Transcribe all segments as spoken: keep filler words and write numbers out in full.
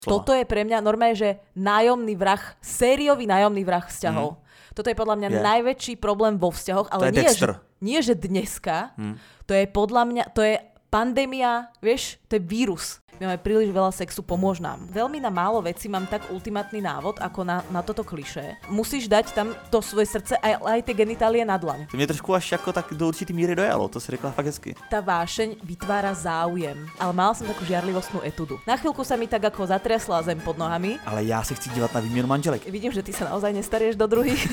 slova. Toto je pre mňa normálne, že nájomný vrah, sériový nájomný vrah vzťahov. Mm. Toto je podľa mňa yeah. najväčší problém vo vzťahoch, ale nie že, nie, že dneska, mm. to je podľa mňa, to je pandémia, vieš, to je vírus. My máme príliš veľa sexu, pomôž nám. Veľmi na málo vecí mám tak ultimátny návod, ako na, na toto klišé. Musíš dať tam to svoje srdce aj, aj tie genitálie na dlaň. To mě trošku až jako tak do určitý míry dojalo, to si řekla fakt hezky. Tá vášeň vytvára záujem, ale mala som takú žiarlivostnú etudu. Na chvíľku sa mi tak ako zatriasla zem pod nohami. Ale já se chci dívat na výměnu manželek. Vidím, že ty sa naozaj nestarieš do druhých.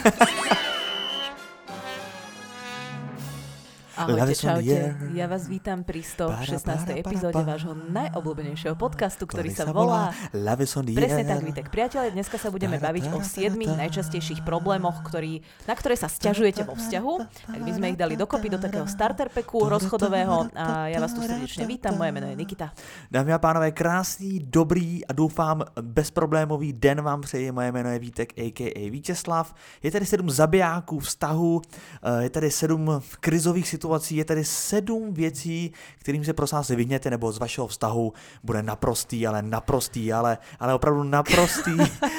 Ahojte, čaute. Ja vás vítam pri stošestnástej epizóde vášho najobľúbenejšieho podcastu, ktorý sa volá Presne tak, Vítek. Priatelia, dneska sa budeme baviť o siedmich najčastejších problémoch, ktorý, na ktoré sa sťažujete vo vzťahu. Tak my sme ich dali dokopy do takého starter packu rozchodového a ja vás tu srdečne vítam. Moje meno je Nikita. Dámy a pánové, krásný, dobrý a doufám bezproblémový den vám přeji. Moje jméno je Vítek, a k a. Vítězslav. Je tady sedm zabijáků vztahu, je tady sedm krizových situací. Je tady sedm věcí, kterým se prosím vás vyhněte, nebo z vašeho vztahu bude naprostý, ale naprostý, ale, ale opravdu naprostý.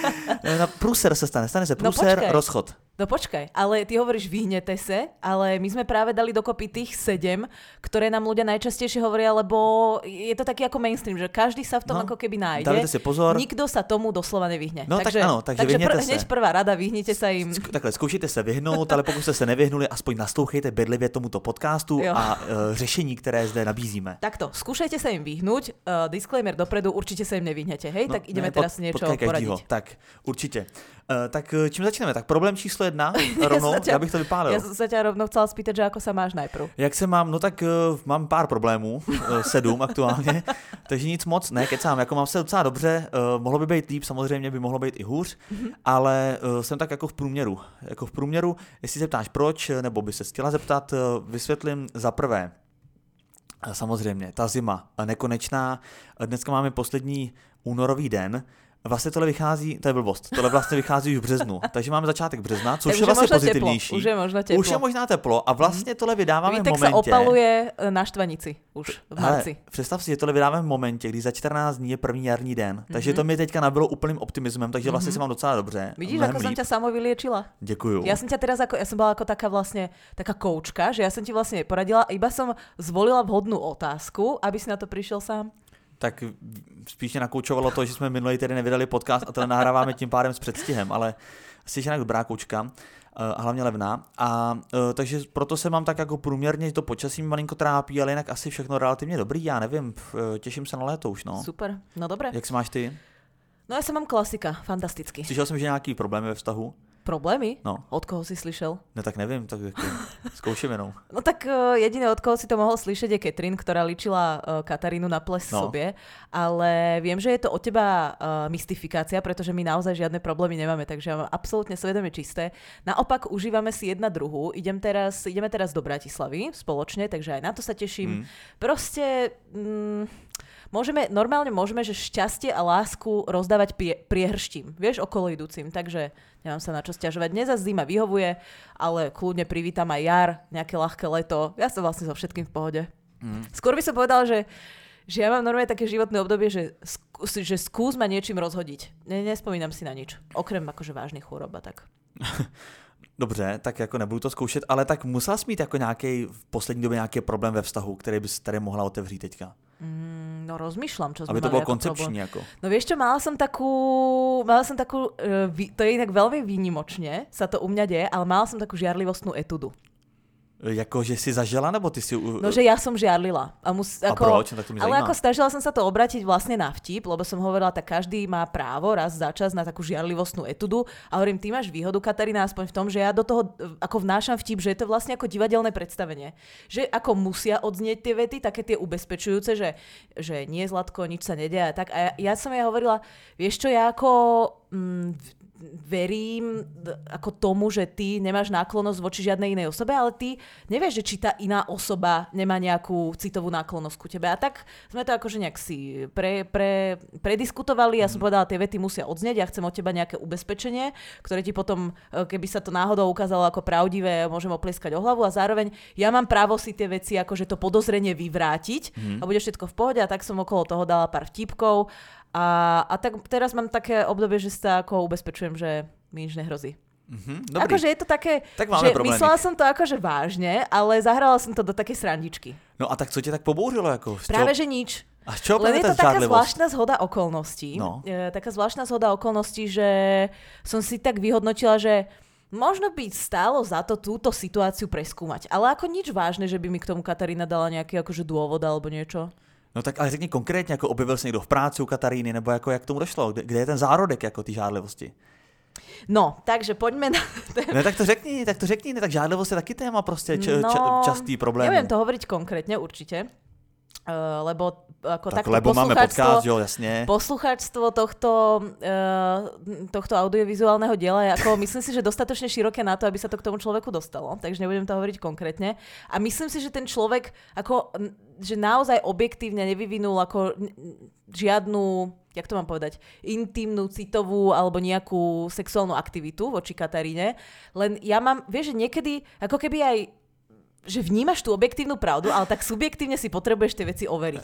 Na průser se stane, stane se průser, no rozchod. No počkaj, ale ty hovoríš vyhnete sa, ale my sme práve dali dokopy tých sedem, ktoré nám ľudia najčastejšie hovoria, lebo je to taký ako mainstream, že každý sa v tom no, ako keby nájde. Dávajte si pozor. Nikto sa tomu doslova nevyhne. No takže, tak áno, takže, takže pr- hneď prvá rada, vyhnite sa im. Sk- takhle, zkoušejte se vyhnout, ale pokud ste sa nevyhnuli, aspoň naslouchejte bedlivě tomuto podcastu jo. a uh, řešení, které zde nabízíme. Takto, skúšajte sa im vyhnúť, uh, disclaimer dopredu, určite sa im nevyhnete, hej? No, tak ideme ne, teraz pod, niečo poradiť. Tak, určite. Uh, tak čím začneme? Tak problém číslo jedna, rovnou, ja, ťa, ja bych to vypálil. Ja som sa ťa rovnou chcela spýtať, že ako sa máš najprv. Jak se mám? No tak uh, mám pár problémů, uh, sedm aktuálně, takže nic moc, ne, kecám, jako mám se docela dobře, uh, mohlo by být líp, samozřejmě by mohlo být i hůř, mm-hmm. ale uh, jsem tak jako v průměru. Jako v průměru, jestli se ptáš proč, nebo by se chtěla zeptat, uh, vysvětlím za prvé. Samozřejmě, ta zima nekonečná, dneska máme poslední únorový den. Vlastně tohle vychází, to je blbost, tohle vlastně vychází už v březnu, takže máme začátek března, což je, je vlastně pozitivnější. Už je možná teplo. Už je možná teplo a vlastně tohle vydáváme Vítek v momentě. Tak sa opaluje na štvanici už v marci. Hele, představ si, že tohle vydáváme v momentě, kdy za čtrnáct dní je první jarní den, mm-hmm. takže to mi teďka nabylo úplným optimismem, takže vlastně mm-hmm. se mám docela dobře. Vidíš, ako líp. Som ťa samo vyliečila? Děkuju. Ja som ťa teraz ako, ja som bola ako taká vlastne, taká koučka, že ja som ti vlastne poradila, iba som zvolila vhodnú otázku, aby si na to prišiel sám. Tak spíš mě nakoučovalo to, že jsme minulý tedy nevydali podcast a to nahráváme tím pádem s předstihem, ale jsi jinak dobrá koučka a hlavně levná. A takže proto se mám tak jako průměrně, to počasí malinko trápí, ale jinak asi všechno relativně dobrý, já nevím, těším se na léto už, no. Super, no dobré. Jak se máš ty? No ja som mám klasika, fantasticky. Slyšel jsem, že nějaký problémy ve vztahu? Problémy? No. Od koho si slyšel? No tak nevím, tak zkouším jenom. No tak uh, jediné, od koho si to mohol slyšet, je Katrin, ktorá ličila uh, Katarínu na ples no. sobie, ale viem, že je to od teba uh, mystifikácia, pretože my naozaj žiadne problémy nemáme, takže ja mám absolútne svedomie čisté. Naopak užívame si jedna druhú. Idem teraz, ideme teraz do Bratislavy spoločne, takže aj na to sa teším. Mm. Proste... Mm, Môžeme, normálne môžeme, že šťastie a lásku rozdávať prie, priehrštím, vieš, okolo idúcim, takže nemám sa na čo sťažovať. Dnes zase zima vyhovuje, ale kľudne privítam aj jar, nejaké ľahké leto, ja som vlastne so všetkým v pohode. Mm. Skôr by som povedal, že, že ja mám normálne také životné obdobie, že, skús, že skús ma niečím rozhodiť. Ne, nespomínam si na nič, okrem akože vážnych chôrob a tak. Dobře, tak jako nebudu to zkoušet, ale tak musela jsi mít jako nějaký v poslední době nějaký problém ve vztahu, který bys tady mohla otevřít teďka. Mm, no rozmýšľam, čo sme Aby to mali bolo koncepčne ako. No vieš čo, mala som takú, mala som takú, uh, to je inak veľmi výnimočne, sa to u mňa deje, ale mala som takú žiarlivostnú etudu. Jako, že si zažila, nebo ty si... No, že ja som žiarlila. A, mus, a ako, proč? Tak to mi ale zajímá. ako snažila som sa to obrátiť vlastne na vtip, lebo som hovorila, tak každý má právo raz za čas na takú žiarlivostnú etudu. A hovorím, ty máš výhodu, Katarína, aspoň v tom, že ja do toho ako vnášam vtip, že je to vlastne ako divadelné predstavenie. Že ako musia odznieť tie vety, také tie ubezpečujúce, že, že nie, Zlatko, nič sa nedeje. Tak. A ja, ja som jej hovorila, vieš čo, ja ako... Mm, verím ako tomu, že ty nemáš náklonnosť voči žiadnej inej osobe, ale ty nevieš, že či tá iná osoba nemá nejakú citovú náklonnosť ku tebe. A tak sme to akože nejak si pre, pre, prediskutovali. Ja som povedala, tie vety musia odznieť, ja chcem od teba nejaké ubezpečenie, ktoré ti potom, keby sa to náhodou ukázalo ako pravdivé, môžem oplieskať o hlavu a zároveň ja mám právo si tie veci akože to podozrenie vyvrátiť mm. a bude všetko v pohode a tak som okolo toho dala pár vtipkov A, a tak teraz mám také obdobie, že sa ako ubezpečujem, že mi nič nehrozí. Mm-hmm, akože je to také, tak že problémy. Myslela som to akože vážne, ale zahrala som to do také srandičky. No a tak co tě tak pobouřilo? Jako, Práve, že nič. A čo Len je to taká zvláštna zhoda okolností. No. E, taká zvláštna zhoda okolností, že som si tak vyhodnotila, že možno by stálo za to túto situáciu preskúmať. Ale ako nič vážne, že by mi k tomu Katarína dala nejaký akože dôvod alebo niečo. No tak ale řekni konkrétně, jako objevil se někdo v práci u Kataríny, nebo jako jak k tomu došlo? Kde, kde je ten zárodek jako ty žádlivosti? No, takže poďme na... Ne, tak to řekni, tak to řekni, ne, tak žádlivost je taky téma prostě č, no, č, častý problém. Neviem to hovoriť konkrétne, určite. Uh, lebo ako tak takto lebo máme podcast, jo, jasne. Poslucháčstvo tohto, uh, tohto audiovizuálneho diela je ako, myslím si, že dostatočne široké na to, aby sa to k tomu človeku dostalo, takže nebudem to hovoriť konkrétne. A myslím si, že ten človek ako, že naozaj objektívne nevyvinul ako žiadnu, jak to mám povedať, intimnú, citovú alebo nejakú sexuálnu aktivitu voči Kataríne. Len ja mám, vieš, že niekedy ako keby aj že vnímaš tú objektívnu pravdu, ale tak subjektívne si potrebuješ tie veci overiť.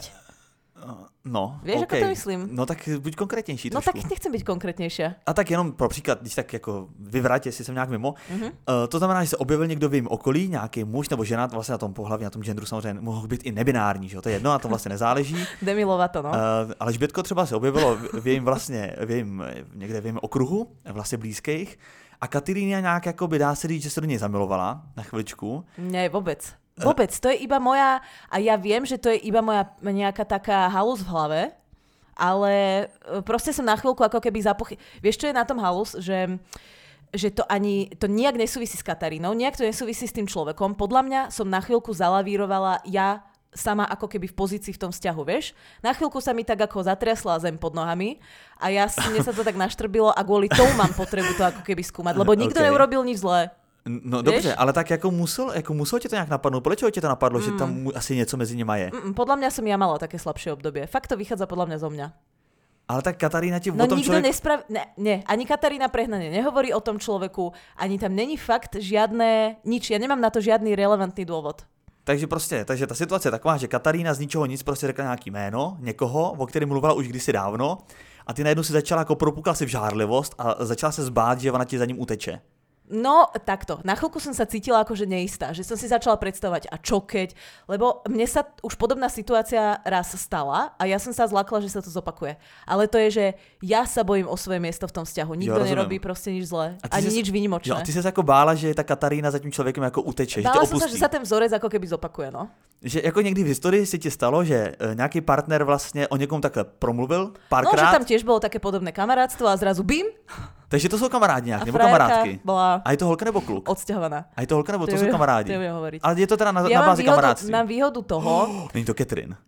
No, Vieš, okay. ako to myslím? No tak buď konkrétnější No trošku. tak nechcem byť konkrétnější. A tak jenom pro příklad, když tak jako vyvrať, jestli jsem nějak mimo. Mm-hmm. Uh, to znamená, že se objevil někdo v jejím okolí, nějaký muž nebo žena, vlastně na tom pohlaví, na tom genderu samozřejmě mohl být i nebinární, že? To je jedno, na to vlastně nezáleží. Demilova to, no. Uh, ale Žbětko třeba se objevilo v, v jejím vlastně, v jejím, někde v jejím okruhu, vlastně blízkých. A Katarína nějak jako by dá se říct, že se do něj zamilovala na chviličku. Ne, vôbec. Vôbec, to je iba moja, a ja viem, že to je iba moja nejaká taká halus v hlave, ale proste som na chvíľku ako keby zapochy... Vieš, čo je na tom halus? Že, že to ani, to nijak nesúvisí s Katarínou, nijak to nesúvisí s tým človekom. Podľa mňa som na chvíľku zalavírovala ja sama ako keby v pozícii v tom vzťahu, vieš? Na chvíľku sa mi tak ako zatriasla zem pod nohami a ja mne sa to tak naštrbilo a kvôli tomu mám potrebu to ako keby skúmať, lebo nikto okay. neurobil nič zlé. No Víš? Dobře, ale tak jako musel, jako muselo tě to nějak napadnout? Proč tě to napadlo, mm. že tam asi něco mezi nima je? Mm, podľa mňa som ja mala také slabšie obdobie. Fakt to vychádza podľa mňa zo mňa. Ale tak Katarína ti no, o tom nikto človek... nesprav... Ne, nie, ani Katarína prehnane nehovorí o tom človeku, ani tam není fakt žiadne, nič. Ja nemám na to žiadny relevantný dôvod. Takže prostě, takže ta situace je taková, že Katarína z ničeho nic prostě řekla nějaký jméno někoho, o kterém mluvila už kdysi dávno a ty najednou si začala jako propukla si v žárlivost a začala se zbát, že ona ti za ním uteče. No, takto. Na chvíľku som sa cítila akože neistá, že som si začala predstavovať a čo keď, lebo mne sa už podobná situácia raz stala a ja som sa zlakla, že sa to zopakuje. Ale to je, že ja sa bojím o svoje miesto v tom vzťahu. Nikto jo, nerobí proste nič zlé, ani nič výnimočné. Jo, a ty sa jako bála, že ta Katarína za tím člověkem jako uteče, bála že to opustí. Bála som sa, že sa ten vzorec ako keby zopakuje, no. Že jako někdy v historii si ti stalo, že nějaký partner vlastně o někom takhle promluvil párkrát. No, že tam tiež bolo také podobné kamarátstvo a zrazu bim. Takže to jsou kamarádi nějak, nebo kamarádky. Bola a je to holka nebo kluk? Odsťahovaná. A je to holka nebo to, to jsou kamarádi? To hovoriť. Ale je to teda na, ja na bázi výhodu, kamarádství. Mám výhodu toho... Oh, není to Catherine.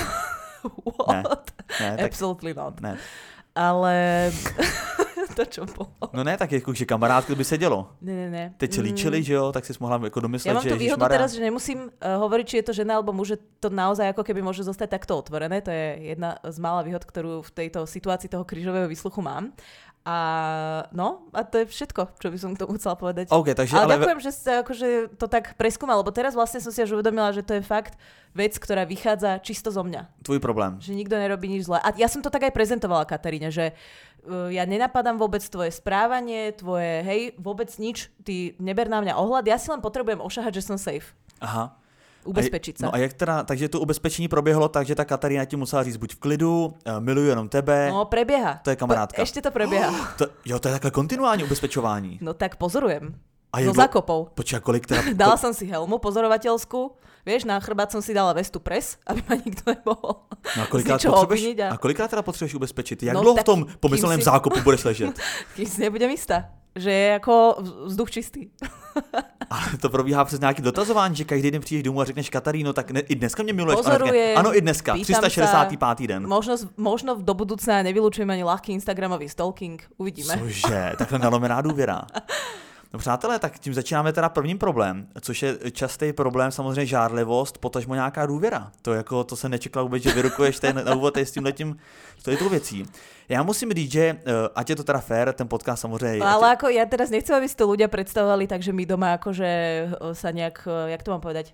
What? Ne, ne, tak... Absolutely not. Ne. Ale... to čo bolo? No ne, tak jako, že kamarádky by se dělo. Ne, ne, ne. Teď se líčili, že jo, tak si mohla jako domyslet, ja mám že tú výhodu ježišmarja. teraz, že nemusím uh, hovoriť, či je to žena alebo muž, že to naozaj ako keby môže zostať takto otvorené. To je jedna z mála výhod, ktorú v tejto situácii toho krížového výsluchu mám. A no, a to je všetko, čo by som k tomu chcela povedať. Okay, takže, ale, ale ďakujem, že ste akože to tak preskúmal, lebo teraz vlastne som si až uvedomila, že to je fakt vec, ktorá vychádza čisto zo mňa. Tvoj problém. Že nikto nerobí nič zlé. A ja som to tak aj prezentovala Kataríne, že uh, ja nenapadám vôbec tvoje správanie, tvoje, hej, vôbec nič, ty neber na mňa ohľad, ja si len potrebujem ošahať, že som safe. Aha. Ubezpečiť sa. No a jak teda, takže to ubezpečení proběhlo tak, že ta Katarína ti musela říct buď v klidu, miluju jenom tebe. No, prebieha. To je kamarádka. Po, ešte to prebieha. Oh, to, jo, to je takhle kontinuální ubezpečování. No tak pozorujem. A no za kopou. Počkaj, kolik teda... Dala som si helmu pozorovateľskú, vieš, na chrbát som si dala vestu pres, aby ma nikto nemohol no a kolikrát, obviniť a... a kolikrát teda potřebuješ ubezpečit? Jak no, dlouho v tom pomyslném si... zákopu budeš ležet? Kým si nebudem istá, že je jako vzduch čistý. Ale to probíhá přes nějaký dotazování, že každý den přijdeš domů a řekneš Kataríno, tak ne, i dneska mě miluješ. Pozorujem, ano, i dneska, tři sta šedesátý pátý den. Možno, možno do budúcna nevylučujem ani ľahký instagramový stalking, uvidíme. Cože, takhle nalomená důvěra. No přátelé, tak tím začínáme teda prvním problém, což je častý problém, samozřejmě žárlivost, potažmo nějaká důvěra. To jako, to se nečekal vůbec, že vyrukuješ ten na úvod s tímhletím, to je tou věcí. Já musím říct, že ať je to teda fér, ten podcast samozřejmě... No, ale ako ja teraz nechcem, aby si to ľudia predstavovali tak, že my doma akože sa nejak, jak to mám povedať,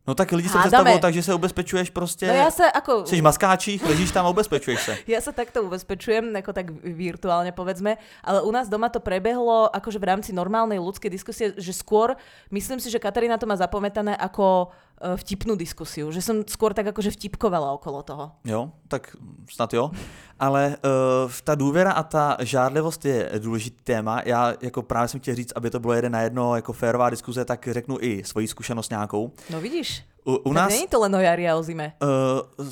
No tak lidi se Hádame. představují tak, že se ubezpečuješ prostě, no ja sa ako... jsi v maskáčích, ležíš tam a ubezpečuješ se. Ja sa takto ubezpečujem, ako tak virtuálne povedzme, ale u nás doma to prebehlo akože v rámci normálnej ľudskej diskusie, že skôr, myslím si, že Katarína to má zapamätané ako vtipnú diskusiu, že som skôr tak akože vtipkovala okolo toho. Jo, tak snad jo. Ale uh, ta důvěra a ta žádlivost je důležitý téma. Já jako právě jsem chtěl říct, aby to bylo jeden na jedno jako férová diskuze, tak řeknu i svoji zkušenost nějakou. No vidíš, u, u tak nás, není to len o jari a o zime. Uh,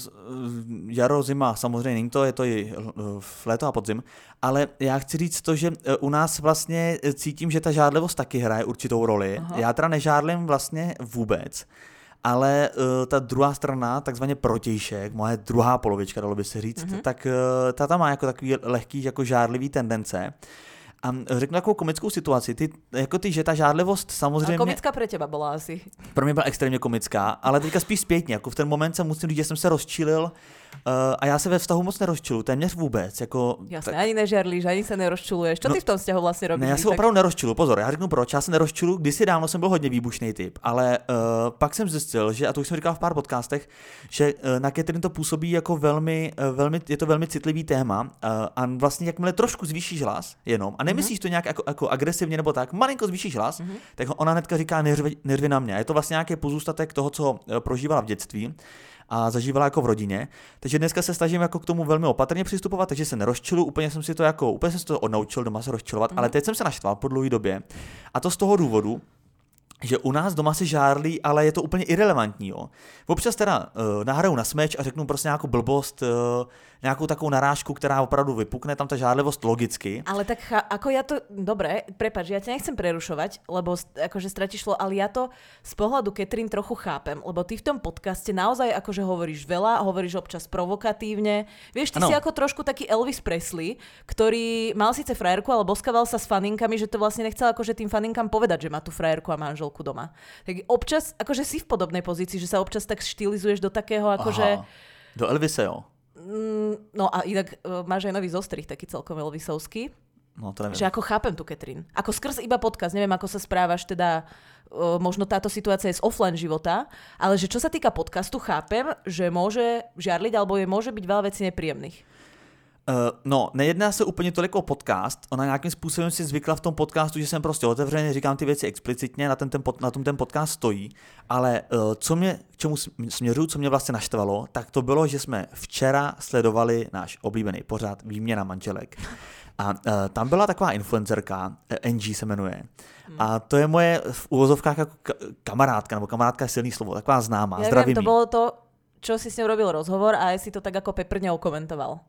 jaro, zima, samozřejmě není to, je to i v léto a podzim, ale já chci říct to, že u nás vlastně cítím, že ta žádlivost taky hraje určitou roli. Aha. Já teda nežádlím vlastně vůbec, ale uh, ta druhá strana, takzvaně protějšek, moje druhá polovička, dalo by se říct, mm-hmm. tak uh, ta tam má jako takový lehký, jako žádlivý tendence. A řeknu takovou komickou situaci, ty, jako ty, že ta žádlivost samozřejmě... A komická pre teba byla asi. Pro mě byla extrémně komická, ale teďka spíš zpětně, jako v ten moment jsem musím říct, že jsem se rozčilil uh, a já se ve vztahu moc nerozčiluju, téměř vůbec. Jako, Jasné, tak... ani nežarlíš, ani se nerozčiluješ. Čo no, ty v tom vzťahu vlastně robíš? Ne, já se tak... opravdu nerozčiluju, pozor, já řeknu proč, já se nerozčiluju, kdysi dávno jsem byl hodně výbušný typ, ale uh, pak jsem zjistil, že, a to už jsem říkal v pár podcastech, že uh, na Catherine to působí jako velmi, uh, velmi, je to velmi citlivý téma uh, a vlastně jakmile trošku zvýšíš hlas jenom a nemyslíš mm-hmm. to nějak jako, jako agresivně nebo tak, malinko zvýšíš hlas, mm-hmm. tak ona hnedka říká nervy, nervy na mě. Je to vlastně nějaký pozůstatek toho, co prožívala v dětství a zažívala jako v rodině. Takže dneska se snažím jako k tomu velmi opatrně přistupovat, takže se nerozčilu, úplně jsem si to jako, úplně jsem si to odnaučil doma se rozčilovat, mm-hmm. ale teď jsem se naštval po dlouhé době. A to z toho důvodu, že u nás doma se žárlí, ale je to úplně irelevantní. Jo. Občas teda uh, nahraju na smeč a řeknu prostě nějakou blbost, uh, nějakou takovou narážku, která opravdu vypukne, tam ta žárlivost logicky. Ale tak cha- ako ja to, dobre, prepáč, ja ťa nechcem prerušovať, lebo akože stratíš slovo, ale ja to z pohľadu Catherine trochu chápem, lebo ty v tom podcaste naozaj akože hovoríš veľa, hovoríš občas provokatívne. Vieš, ty ano. Si ako trošku taký Elvis Presley, ktorý mal síce frajerku, ale boskával sa s faninkami, že to vlastne nechcel akože tým faninkám povedať, že má tu frajerku a manželku doma. Tak občas, akože si v podobnej pozícii, že sa občas tak štylizuješ do takého akože... Aha, do Elvise, jo. No a inak uh, máš aj nový zostrih, taký celkom Elvisovský. No to neviem. Že ako chápem tu Catherine. Ako skrz iba podcast, neviem ako sa správaš, teda uh, možno táto situácia je z offline života, ale že čo sa týka podcastu, chápem, že môže žiarliť alebo je môže byť veľa vecí nepríjemných. Uh, no, nejedná se úplně tolik o podcast, ona nějakým způsobem si zvykla v tom podcastu, že jsem prostě otevřený, říkám ty věci explicitně, na, ten, ten pod, na tom ten podcast stojí, ale uh, co mě, k čemu směřuju, co mě vlastně naštvalo, tak to bylo, že jsme včera sledovali náš oblíbený pořad Výměna manželek. A uh, tam byla taková influencerka, uh, N G se jmenuje, hmm. a to je moje v úvozovkách jako kamarádka, nebo kamarádka je silný slovo, taková známá, ja zdravím. To bolo to, čo si s ňou robil rozhovor a aj si to tak ako peprňou komentoval.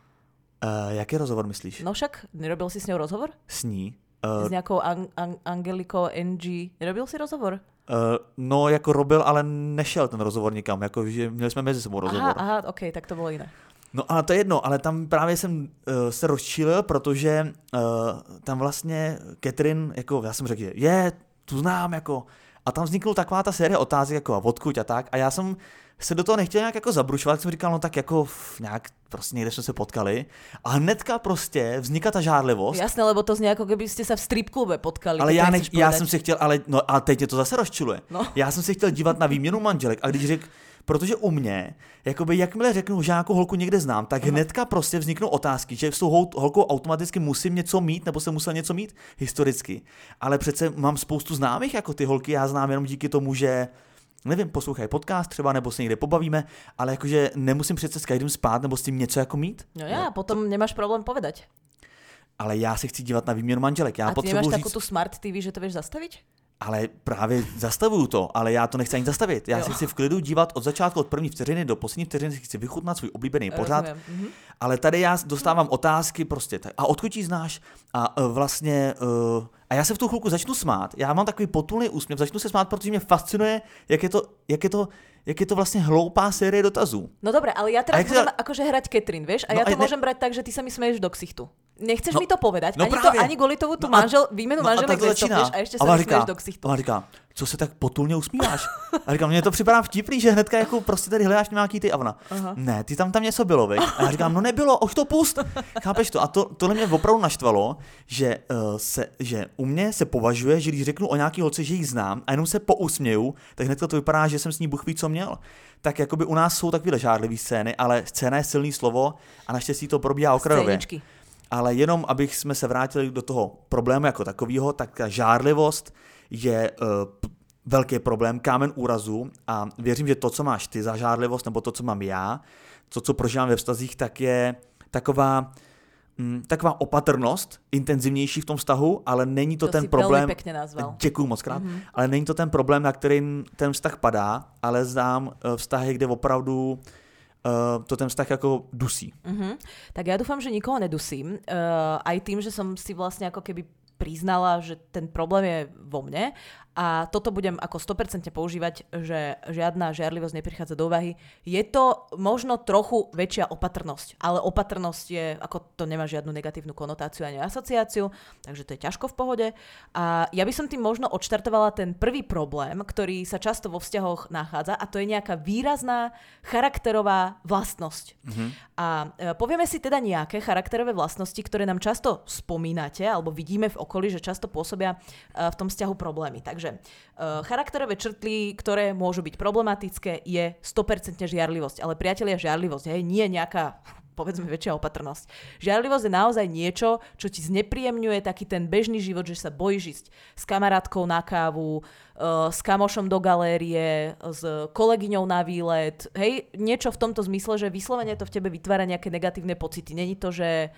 Uh, jaký rozhovor myslíš? No však, nerobil si s ňou rozhovor? S ní? Uh, s nějakou an- an- Angelikou N G. Nerobil si rozhovor? Uh, no, jako robil, ale nešel ten rozhovor nikam, jako, že měli jsme mezi sebou rozhovor. Aha, aha, ok, tak to bylo jiné. No a to je jedno, ale tam právě jsem uh, se rozčílil, protože uh, tam vlastně Catherine, jako já jsem řekl, že je, tu znám, jako, a tam vznikla taková ta série otázek, jako a odkud a tak, a já jsem se do toho nechtěl nějak jako zabrušovat, jsem říkal, no tak jako nějak prostě někde jsme se potkali a hnedka prostě vzniká ta žárlivost. Jasné, lebo to zní jako kdybyste se v strip klube potkali. Ale já, ne, já jsem si chtěl, ale no a teď je to zase rozčiluje. No. Já jsem si chtěl dívat na Výměnu manželek a když řekl, protože u mě, jakoby jakmile řeknu, že nějakou holku někde znám, tak Aha. hnedka prostě vzniknou otázky, že s tou holkou automaticky musím něco mít, nebo jsem musel něco mít historicky. Ale přece mám spoustu známých, jako ty holky, já znám jenom díky tomu, že nevím, poslouchají podcast třeba, nebo se někde pobavíme, ale jakože nemusím přece s každým spát, nebo s tím něco jako mít. No já, no. Potom nemáš problém povedať. Ale já se chci dívat na Výměnu manželek. Já a ty nemáš říct... takovou tu smart T V, že to vieš zastavit? Ale právě zastavuju to, ale já to nechci ani zastavit. Já jo. si chci v klidu dívat od začátku, od první vteřiny do poslední vteřiny, si chci vychutnat svůj oblíbený pořad. Mhm. Ale tady já dostávám otázky prostě, tak, a odkud ji znáš? A uh, vlastně, uh, a já se v tu chvilku začnu smát. Já mám takový potulný úsměv, začnu se smát, protože mě fascinuje, jak je to, jak je to, jak je to vlastně hloupá série dotazů. No dobré, ale já teraz budem sa... akože hrať Catherine, vieš? A no, ja to ne... môžem brať tak, že ty sa mi smeješ do ksichtu. Nechceš no, mi to povedať, no ani, právě. to, ani kvůli tomu tu no manžel, výmenu no manželek nestopneš a ještě se vysměješ do ksichtu. A říká, co se tak potulně usmíváš? A říkám, mně to připadá vtipný, že hnedka jako prostě tady hledáš nějaký ty a ona. Aha. Ne, ty tam tam něco bylo, veď? A já říkám, no nebylo, už to pust. Chápeš to? A to, tohle mě opravdu naštvalo, že, uh, se, že u mě se považuje, že když řeknu o nějaký holce, že ji znám a jenom se pousměju, tak hnedka to vypadá, že jsem s ní Bůh ví, co měl. Tak jakoby u nás jsou takové žárlivé scény, ale scéna je silný slovo a naštěstí to probíhá okrajově. Ale jenom, abych jsme se vrátili do toho problému jako takového, tak ta žárlivost je uh, velký problém, kámen úrazu a věřím, že to, co máš ty za žárlivost, nebo to, co mám já, to, co prožívám ve vztazích, tak je taková, mm, taková opatrnost, intenzivnější v tom vztahu, ale není to, to ten problém. Děkuju moc krát. Mm-hmm. Ale není to ten problém, na který ten vztah padá, ale znám uh, vztahy, kde opravdu Uh, to ten vztah ako dusí. Uh-huh. Tak ja dúfam, že nikoho nedusím. Uh, aj tým, že som si vlastne ako keby priznala, že ten problém je vo mne a toto budem ako sto percent používať, že žiadna žiarlivosť neprichádza do úvahy. Je to možno trochu väčšia opatrnosť, ale opatrnosť je, ako to nemá žiadnu negatívnu konotáciu ani asociáciu, takže to je ťažko v pohode. A ja by som tým možno odštartovala ten prvý problém, ktorý sa často vo vzťahoch nachádza a to je nejaká výrazná charakterová vlastnosť. Mm-hmm. A e, povieme si teda nejaké charakterové vlastnosti, ktoré nám často spomínate alebo vidíme v okolí, že často pôsobia e, v tom vzťahu problémy. Takže e, charakterové črty, ktoré môžu byť problematické, je sto percent žiarlivosť. Ale priatelia, žiarlivosť, hej, nie nejaká, povedzme, väčšia opatrnosť. Žiarlivosť je naozaj niečo, čo ti znepríjemňuje taký ten bežný život, že sa bojíš ísť s kamarátkou na kávu, e, s kamošom do galérie, s kolegyňou na výlet. Hej, niečo v tomto zmysle, že vyslovene to v tebe vytvára nejaké negatívne pocity. Není to, že...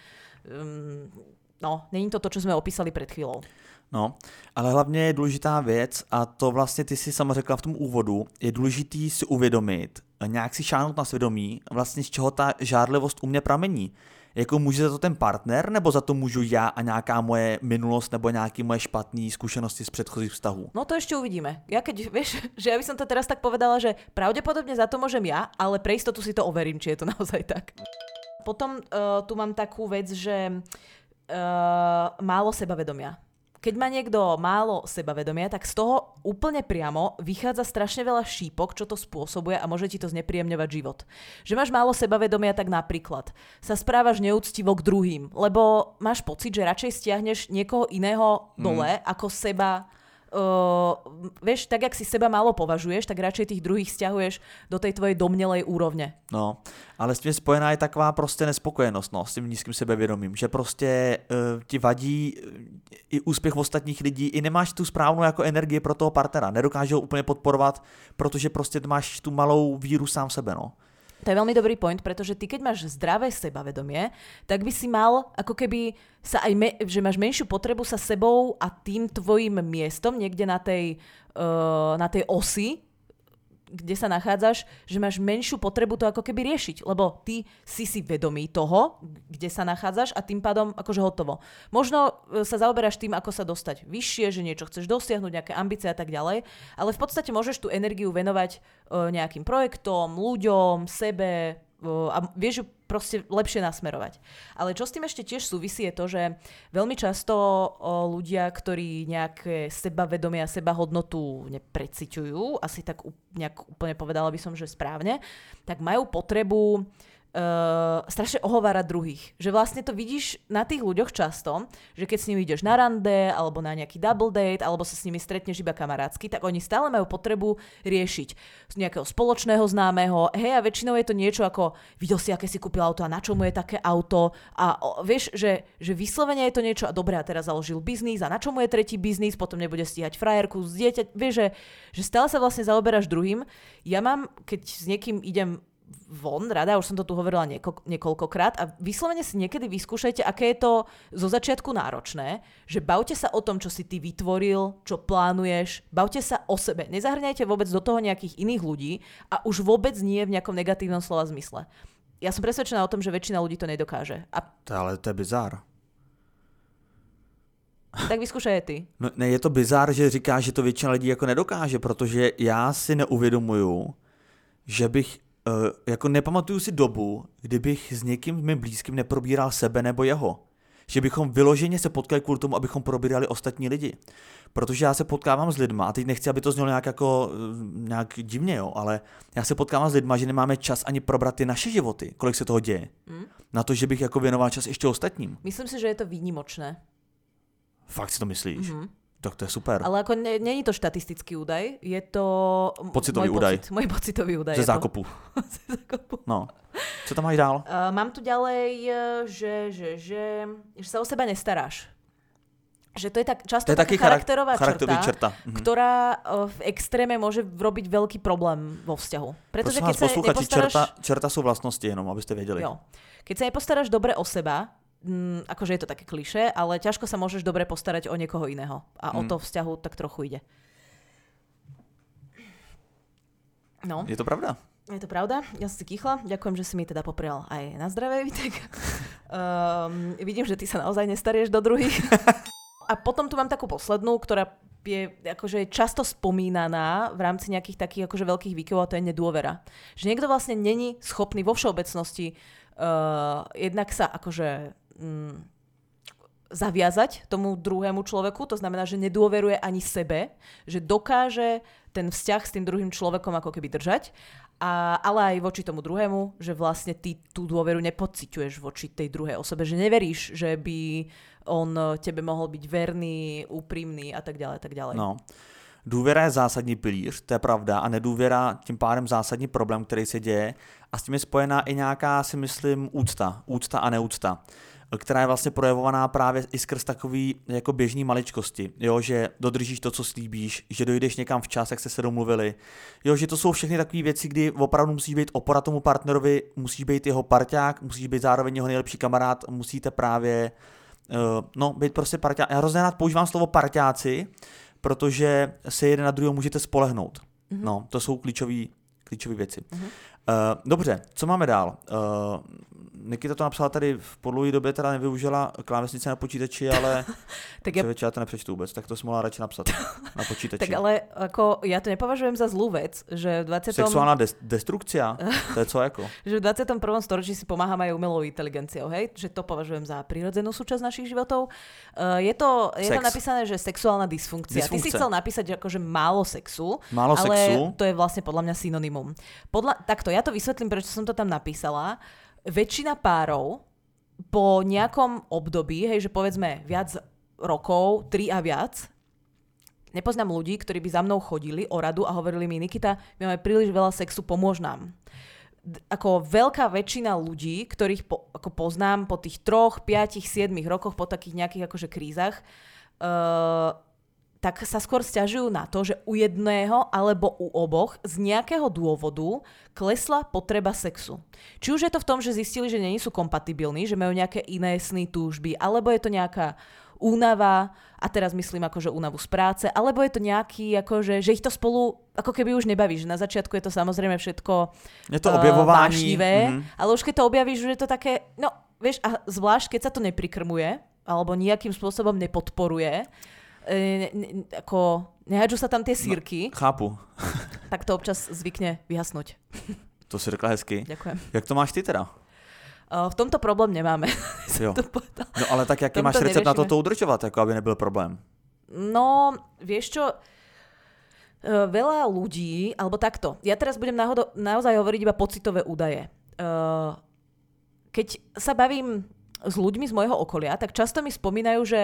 Um, No, není to to, čo sme opísali před chvíľou. No, ale hlavně je důležitá věc a to vlastně ty si sama řekla v tom úvodu, je důležitý si uvědomit, nějak si šáhnout na svědomí, vlastně z čeho ta žárlivost u mě pramení. Jako může za to ten partner, nebo za to můžu já a nějaká moje minulost nebo nějaké moje špatné zkušenosti z předchozích vztahů? No to ešte uvidíme. Ja keď, vieš, že ja by som to teraz tak povedala, že pravdepodobne za to môžem ja, ale pre istotu si to overím, či je to naozaj tak. Potom uh, tu mám takú vec, že Uh, málo sebavedomia. Keď má niekto málo sebavedomia, tak z toho úplne priamo vychádza strašne veľa šípok, čo to spôsobuje a môže ti to znepríjemňovať život. Že máš málo sebavedomia, tak napríklad sa správaš neúctivo k druhým, lebo máš pocit, že radšej stiahneš niekoho iného dole, mm. ako seba. Uh, vieš, tak jak si seba málo považuješ, tak radšej tých druhých stiahuješ do tej tvojej domnělej úrovně. No, ale s tím spojená je taková prostě nespokojenost, no, s tím nízkým sebevědomím, že prostě uh, ti vadí i úspěch ostatních lidí, i nemáš tu správnou jako energii pro toho partnera, nedokáže ho úplně podporovat, protože prostě máš tu malou víru sám v sebe, no. To je veľmi dobrý point, pretože ty keď máš zdravé sebavedomie, tak by si mal ako keby sa aj, me, že máš menšiu potrebu sa sebou a tým tvojim miestom niekde na tej, uh, na tej osi, kde sa nachádzaš, že máš menšiu potrebu to ako keby riešiť, lebo ty si si vedomý toho, kde sa nachádzaš a tým pádom akože hotovo. Možno sa zaoberáš tým, ako sa dostať vyššie, že niečo chceš dosiahnuť, nejaké ambície a tak ďalej, ale v podstate môžeš tú energiu venovať uh, nejakým projektom, ľuďom, sebe uh, a vieš ju proste lepšie nasmerovať. Ale čo s tým ešte tiež súvisí je to, že veľmi často o, ľudia, ktorí nejaké sebavedomie a sebahodnotu nepreciťujú, asi tak nejak úplne povedala by som, že správne, tak majú potrebu Uh, strašne ohovárať druhých. Že vlastne to vidíš na tých ľuďoch často, že keď s nimi ideš na rande, alebo na nejaký double date, alebo sa s nimi stretneš iba kamarátsky, tak oni stále majú potrebu riešiť z nejakého spoločného známeho. Hej, a väčšinou je to niečo ako videl si, aké si kúpil auto a na čo mu je také auto. A o, vieš, že, že vyslovene je to niečo a dobre, a teraz založil biznis a na čo mu je tretí biznis, potom nebude stíhať frajerku z dieťa. Vieš, že, že stále sa vlastne zaoberáš druhým. Ja mám, keď s niekým idem von, rada, už som to tu hovorila nieko, niekoľkokrát a vyslovene si niekedy vyskúšajte, aké je to zo začiatku náročné, že bavte sa o tom, čo si ty vytvoril, čo plánuješ, bavte sa o sebe. Nezahrňajte vôbec do toho nejakých iných ľudí a už vôbec nie v nejakom negatívnom slova zmysle. Ja som presvedčená o tom, že väčšina ľudí to nedokáže. A... To, ale to je bizár. Tak vyskúšaj ty. No, ne, je to bizár, že říkáš, že to většina lidí jako nedokáže, protože já si neuvědomuju, že bych jako nepamatuju si dobu, kdybych s někým mým blízkým neprobíral sebe nebo jeho. že bychom vyloženě se potkali kvůli tomu, abychom probírali ostatní lidi. Protože já se potkávám s lidma, a teď nechci, aby to znělo nějak jako nějak divně, jo, ale já se potkávám s lidma, že nemáme čas ani probrat ty naše životy, kolik se toho děje. Mm. Na to, že bych jako věnoval čas ještě ostatním. Myslím si, že je to výnimočné. Fakt si to myslíš? Mm-hmm. Tak to je super. Ale ako není to štatistický údaj, je to pocitový môj údaj. Pocit, môj pocitový údaj. Ze zákopu. Ze zákopu. No. Co tam máš dál? Uh, mám tu ďalej, že, že, že, že sa o seba nestaráš. Že to je tak často to je taká charakterová črta, črta. Mhm. ktorá uh, v extréme môže robiť veľký problém vo vzťahu. Pretože keď sa nepostaráš... Čerta, čerta sú vlastnosti jenom, aby ste vedeli. Jo. Keď sa nepostaráš dobre o seba, Mm, akože je to také klišé, ale ťažko sa môžeš dobre postarať o niekoho iného. A mm. o to vzťahu tak trochu ide. No. Je to pravda? Je to pravda. Ja som si kýchla. Ďakujem, že si mi teda poprial aj na zdravie, Vítek. um, vidím, že ty sa naozaj nestarieš do druhých. A potom tu mám takú poslednú, ktorá je akože často spomínaná v rámci nejakých takých akože veľkých výkyvov, a to je nedôvera. Že niekto vlastne není schopný vo všeobecnosti uh, jednak sa akože mm, zaviazať tomu druhému človeku, to znamená, že nedôveruje ani sebe, že dokáže ten vzťah s tým druhým človekom ako keby držať, a, ale aj voči tomu druhému, že vlastne ty tú dôveru nepociťuješ voči tej druhej osobe, že neveríš, že by on tebe mohol byť verný, úprimný a tak ďalej, tak ďalej. No. Důvěra je zásadní pilíř, to je pravda, a nedůvěra tím pádem zásadní problém, který se děje, a s tím je spojená i nějaká, si myslím, úcta, úcta a neúcta, která je vlastně projevovaná právě i skrz takový jako běžný maličkosti, jo, že dodržíš to, co slíbíš, že dojdeš někam včas, jak jste se domluvili, jo, že to jsou všechny takové věci, kdy opravdu musíš být opora tomu partnerovi, musíš být jeho parťák, musíš být zároveň jeho nejlepší kamarád, musíte právě, uh, no, být prostě parťák. Já hrozně rád používám slovo parťáci, protože se jeden na druhého můžete spolehnout. Mm-hmm. No, to jsou klíčové klíčové věci. Mm-hmm. Uh, dobře, co máme dál? Uh, Nikita to napsala tady v podlouhé době, teda nevyužila klávesnice na počítači, ale tak ja... já to nepřečtu vůbec, tak to jsem mohla radši napsat na počítači. Tak ale ako, ja to nepovažujem za zlú vec, že v dvadsiatom Sexuálna des- destrukcia? To je co jako? Že v dvadsiatom prvom storočí si pomáhame aj umelou inteligenciou, hej? Že to považujem za prirodzenú súčasť našich životov. Uh, je to, je tam napísané, že sexuálna dysfunkcia. Ty si chcel napísať akože málo sexu, málo ale sexu? To je vlastne podľa mňa synonymum. Podľa, takto, ja to vysvetlím, prečo som to tam napísala. Väčšina párov po nejakom období, hej, že povedzme viac rokov, tri a viac, nepoznám ľudí, ktorí by za mnou chodili o radu a hovorili mi: Nikita, my máme príliš veľa sexu, pomôž nám. Ako veľká väčšina ľudí, ktorých po, ako poznám po tých troch, piatich, siedmich rokoch, po takých nejakých akože krízach, uh, tak sa skôr sťažujú na to, že u jedného alebo u oboch z nejakého dôvodu klesla potreba sexu. Či už je to v tom, že zistili, že nie sú kompatibilní, že majú nejaké iné sny, túžby, alebo je to nejaká únava, a teraz myslím akože únavu z práce, alebo je to nejaký, akože, že ich to spolu ako keby už nebaví, že na začiatku je to samozrejme všetko je to objavování, uh, vášnivé, mm-hmm. ale už keď to objavíš, že je to také, no vieš, a zvlášť keď sa to neprikrmuje, alebo nejakým spôsobom nepodporuje, Ne, ne, ako nehádžu sa tam tie sírky. No, chápu. Tak to občas zvykne vyhasnúť. To si řekla hezky. Ďakujem. Jak to máš ty teda? Uh, v tomto problém nemáme. Jo. No ale tak jaký máš recept na to to udržovat, jako aby nebyl problém? No, vieš čo, uh, veľa ľudí, alebo takto, ja teraz budem náhodo, naozaj hovoriť iba pocitové údaje. Uh, keď sa bavím s ľuďmi z môjho okolia, tak často mi spomínajú, že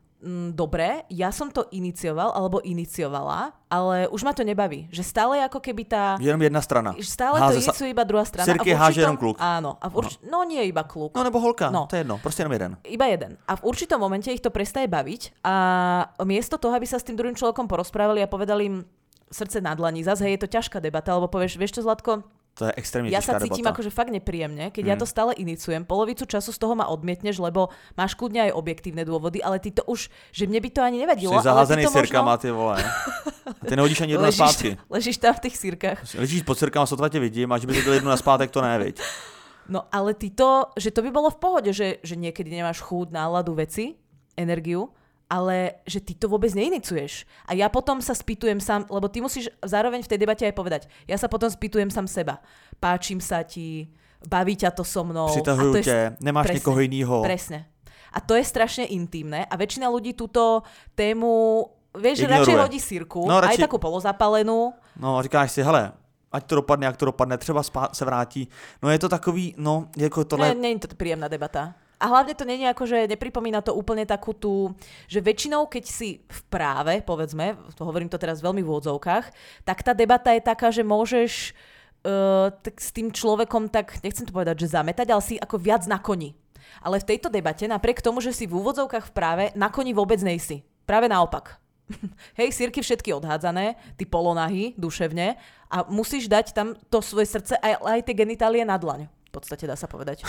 dobre, ja som to inicioval alebo iniciovala, ale už ma to nebaví. Že stále ako keby tá... Jenom jedna strana. Stále háze to iniciuje sa... iba druhá strana. Sirky háže jenom kluk. Áno. A v urč... no. no nie iba kluk. No nebo holka, no. To je jedno. Proste jenom jeden. Iba jeden. A v určitom momente ich to prestaje baviť a miesto toho, aby sa s tým druhým človekom porozprávali a povedali im srdce na dlani, zase hej, je to ťažká debata, alebo povieš, vieš čo, Zlatko? To je extrémne ja ťažká debata. Ja sa cítim akože fakt nepríjemne, keď mm. ja to stále iniciujem. Polovicu času z toho ma odmietneš, lebo máš kľudne aj objektívne dôvody, ale ty to už, že mne by to ani nevadilo. Si zaházený sirkama, možno... ty vole. Ty nehodíš ani jednu na zpátky. Ležíš tam v tých sirkách. Ležíš pod sirkama, sotva tě vidím, a že by si dal jednu na zpátek, to ne, viď. No ale ty to, že to by bolo v pohode, že, že niekedy nemáš chuť, náladu, veci, energiu, ale že ty to vôbec neinicuješ. A ja potom sa spýtujem sám, lebo ty musíš zároveň v tej debate aj povedať, ja sa potom spýtujem sám seba. Páčim sa ti, baví ťa to so mnou. Přitahujú ťa, nemáš presne, niekoho inýho. Presne. a to je strašne intimné a väčšina ľudí túto tému, vieš, že ignoruje. radšej hodí sírku, no, radši... aj takú polozapálenú. No, říkáš si, hele, ať to dopadne, jak to dopadne, třeba spá- se vrátí. No je to takový, no, jako tohle... Nie, nie je to príjemná debata. A hlavne to nie je ako, že nepripomína to úplne takú tú, že väčšinou, keď si v práve, povedzme, to hovorím to teraz veľmi v úvodzovkách, tak tá debata je taká, že môžeš uh, tak s tým človekom tak, nechcem to povedať, že zametať, ale si ako viac na koni. Ale v tejto debate, napriek tomu, že si v úvodzovkách v práve, na koni vôbec nejsi. Práve naopak. Hej, sírky všetky odhádzané, ty polonahy, duševne, a musíš dať tam to svoje srdce aj, aj tie genitálie na dlaň. V podstate dá sa povedať.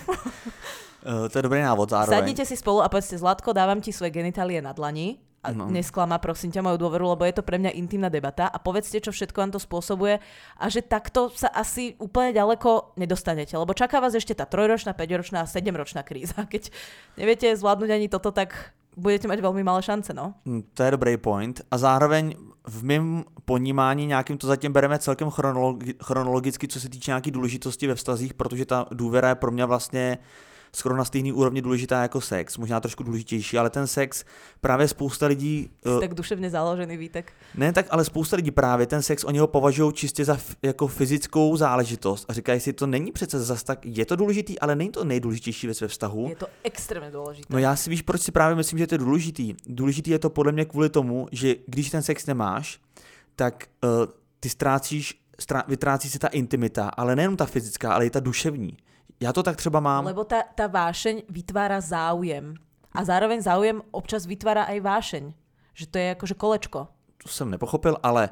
Uh, to je dobrý návod zároveň. Sadnite si spolu a povedzte, Zlatko, dávam ti svoje genitálie na dlani a no. nesklama, prosím ťa, moju dôveru, lebo je to pre mňa intimná debata a povedzte, čo všetko vám to spôsobuje a že takto sa asi úplne ďaleko nedostanete, lebo čaká vás ešte tá trojročná, päťročná a sedemročná kríza. Keď neviete zvládnuť ani toto, tak budete mať veľmi malé šance, no. To je dobrý point a zároveň v mém ponímání nějakým to zatím bereme celkem chronologi- chronologicky, co se týče nějaký důležitosti ve vztazích, protože ta důvěra je pro mě vlastně skoro na stejný úrovni důležitá jako sex, možná trošku důležitější, ale ten sex právě spousta lidí... Uh, tak duševně založený, Vítek. Ne, tak ale spousta lidí právě ten sex, oni ho považují čistě za f, jako fyzickou záležitost a říkají si, to není přece zas tak, je to důležitý, ale není to nejdůležitější věc ve vztahu. Je to extrémně důležité. No já si víš, proč si právě myslím, že to je důležitý. Důležitý je to podle mě kvůli tomu, že když ten sex nemáš, tak uh, ty ztrácíš, strá, vytrácí se ta intimita, ale nejenom ta fyzická, ale i ta duševní. Já to tak třeba mám. Lebo tá, tá vášeň vytvára záujem. A zároveň záujem občas vytvára aj vášeň. Že to je akože kolečko. To jsem nepochopil, ale